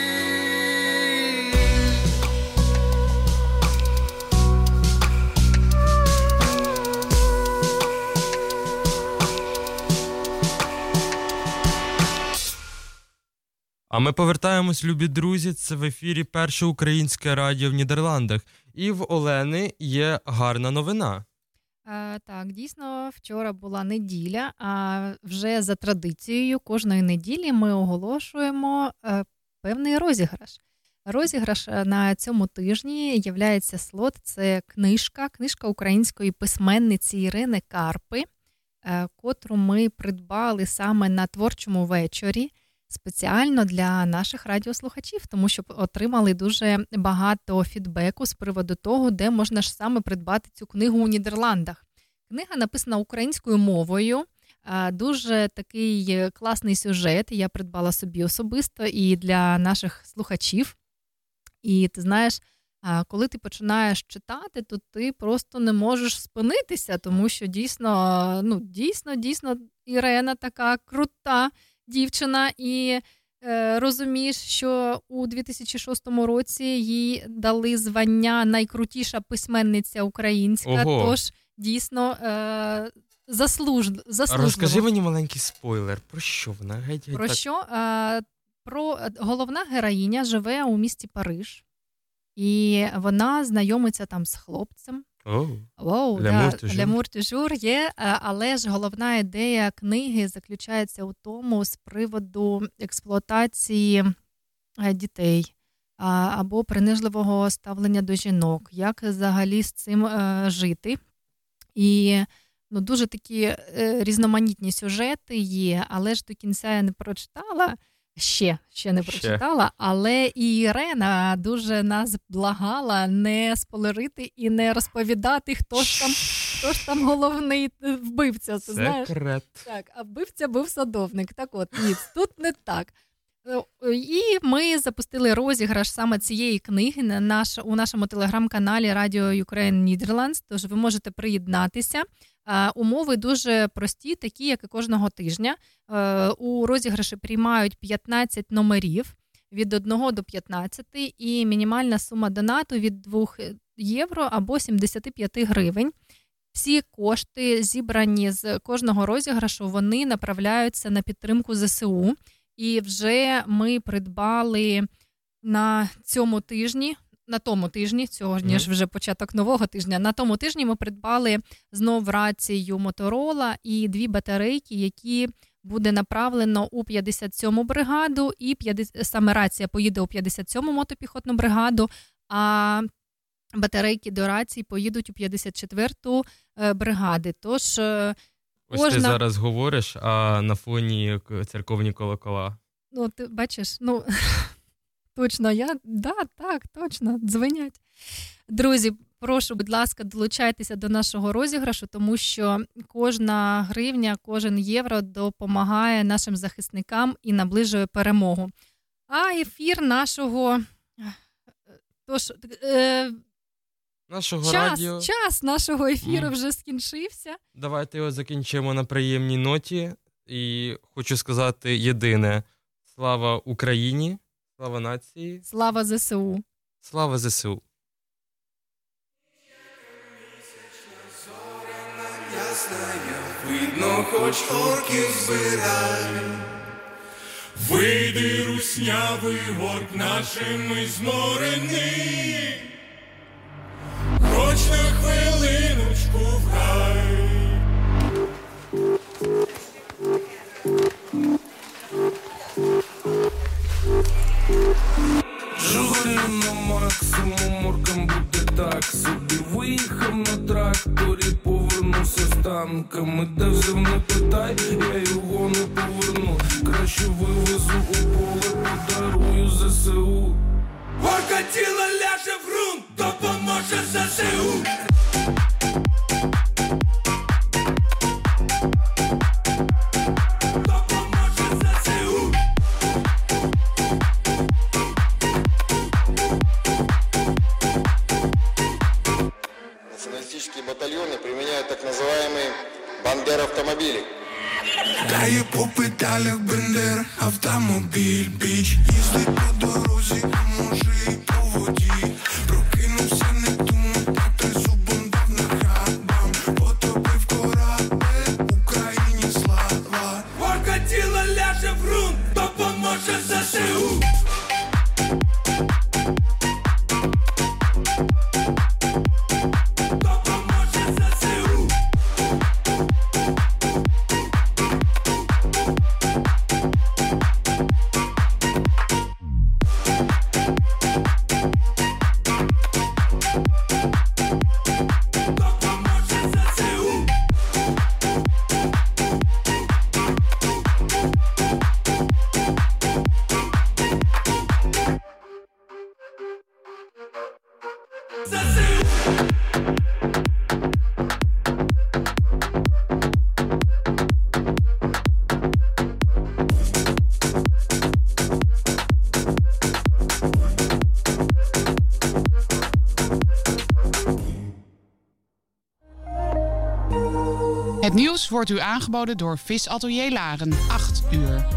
А ми повертаємось, любі друзі, це в ефірі Перше українське радіо в Нідерландах. І в Олени є гарна новина. Так, дійсно, вчора була неділя, а вже за традицією кожної неділі ми оголошуємо певний розіграш. Розіграш на цьому тижні являється слот, це книжка української письменниці Ірини Карпи, котру ми придбали саме на творчому вечорі спеціально для наших радіослухачів, тому що отримали дуже багато фідбеку з приводу того, де можна ж саме придбати цю книгу у Нідерландах. Книга написана українською мовою, дуже такий класний сюжет, я придбала собі особисто і для наших слухачів. І ти знаєш, коли ти починаєш читати, то ти просто не можеш спинитися, тому що дійсно Ірена така крута дівчина, і розумієш, що у 2006 році їй дали звання найкрутіша письменниця українська, Ого. тож дійсно заслужливо. Розкажи мені маленький спойлер, про що вона? Про що? Головна героїня живе у місті Париж, і вона знайомиться там з хлопцем. Лямур тюжур є, але ж головна ідея книги заключається у тому з приводу експлуатації дітей або принижливого ставлення до жінок, як взагалі з цим жити. І дуже такі різноманітні сюжети є, але ж до кінця я не прочитала. Ще не прочитала, але і Ірена дуже нас благала не спойлерити і не розповідати, хто ж там головний вбивця. Ти знаєш? Секрет. Так, а вбивця був садовник. Так от, ні, тут не так. І ми запустили розіграш саме цієї книги у нашому телеграм-каналі Radio Ukraine Netherlands, тож ви можете приєднатися. Умови дуже прості, такі, як і кожного тижня. У розіграші приймають 15 номерів від 1 до 15, і мінімальна сума донату від 2 євро або 75 гривень. Всі кошти, зібрані з кожного розіграшу, вони направляються на підтримку ЗСУ. І вже ми придбали на тому тижні, сьогодні ж вже початок нового тижня, на тому тижні ми придбали знов рацію Motorola і 2 батарейки, які буде направлено у 57-му бригаду, і саме рація поїде у 57-му мотопіхотну бригаду, а батарейки до рації поїдуть у 54-ту бригади. Тож ось ти зараз говориш, а на фоні церковні колокола. Ти бачиш, точно, точно, дзвенять. Друзі, прошу, будь ласка, долучайтеся до нашого розіграшу, тому що кожна гривня, кожен євро допомагає нашим захисникам і наближує перемогу. А ефір нашого... Час нашого ефіру вже скінчився. Давайте його закінчимо на приємній ноті. І хочу сказати єдине. Слава Україні, слава нації. Слава ЗСУ. Слава ЗСУ. Видно, хоч орків збирай. Вийди, руснявий горк нашими зморений. Хоч на хвилиночку в рай. Жугаю на максимум, оркам буде так собі. Виїхав на тракторі, повернувся з танками. Де взяв, не питай, я його не поверну. Краще вивезу у поле, подарую ЗСУ. Орка тіло ляже в ґрунт, допоможе ЗСУ. Националистические батальоны применяют так называемые бандер-автомобили. Дає по педалях бендер, автомобіль, біч. Їздить по дорозі, а може і по воді. Прокинувся, не думав, а ти зубом дав на хабам. Потопив корабель, Україні слава. Орка тіло ляже в ґрунт, допоможе ЗСУ. Het nieuws wordt u aangeboden door Visatelier Laren. 8 uur.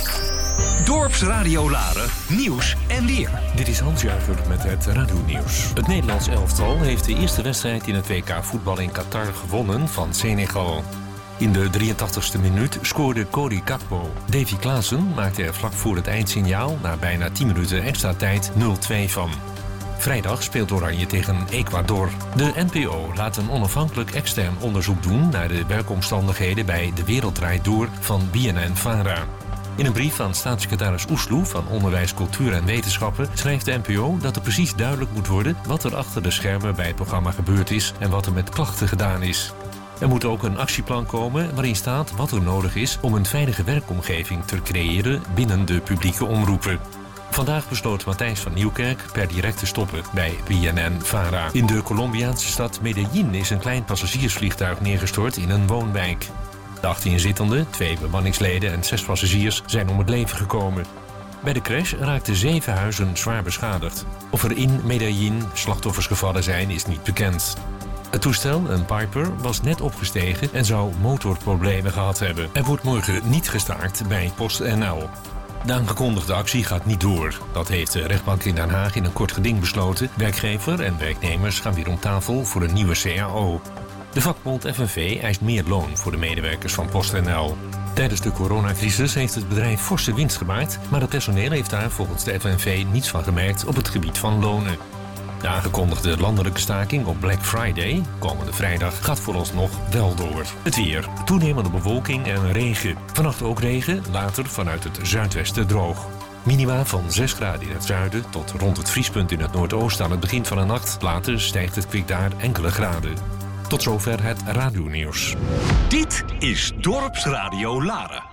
Dorpsradio Laren, nieuws en weer. Dit is Hans Juiver met het Radio-nieuws. Het Nederlands elftal heeft de eerste wedstrijd in het WK voetbal in Qatar gewonnen van Senegal. In de 83ste minuut scoorde Cody Gakpo. Davy Klaassen maakte er vlak voor het eindsignaal na bijna 10 minuten extra tijd 0-2 van. Vrijdag speelt Oranje tegen Ecuador. De NPO laat een onafhankelijk extern onderzoek doen naar de werkomstandigheden bij De Wereld Draait Door van BNN-Vara. In een brief aan staatssecretaris Oesloe van Onderwijs, Cultuur en Wetenschappen schrijft de NPO dat er precies duidelijk moet worden wat er achter de schermen bij het programma gebeurd is en wat er met klachten gedaan is. Er moet ook een actieplan komen waarin staat wat er nodig is om een veilige werkomgeving te creëren binnen de publieke omroepen. Vandaag besloot Matthijs van Nieuwkerk per direct te stoppen bij BNN-Vara. In de Colombiaanse stad Medellín is een klein passagiersvliegtuig neergestort in een woonwijk. De 18 inzittenden, 2 bemanningsleden en 6 passagiers zijn om het leven gekomen. Bij de crash raakten 7 huizen zwaar beschadigd. Of er in Medellín slachtoffers gevallen zijn is niet bekend. Het toestel, een Piper, was net opgestegen en zou motorproblemen gehad hebben. Er wordt morgen niet gestaakt bij PostNL. De aangekondigde actie gaat niet door. Dat heeft de rechtbank in Den Haag in een kort geding besloten. Werkgever en werknemers gaan weer om tafel voor een nieuwe CAO. De vakbond FNV eist meer loon voor de medewerkers van PostNL. Tijdens de coronacrisis heeft het bedrijf forse winst gemaakt, maar het personeel heeft daar volgens de FNV niets van gemerkt op het gebied van lonen. De aangekondigde landelijke staking op Black Friday, komende vrijdag, gaat vooralsnog wel door. Het weer. Toenemende bewolking en regen. Vannacht ook regen, later vanuit het zuidwesten droog. Minima van 6 graden in het zuiden tot rond het vriespunt in het noordoosten aan het begin van de nacht. Later stijgt het kwik daar enkele graden. Tot zover het Radio-nieuws. Dit is Dorpsradio Laren.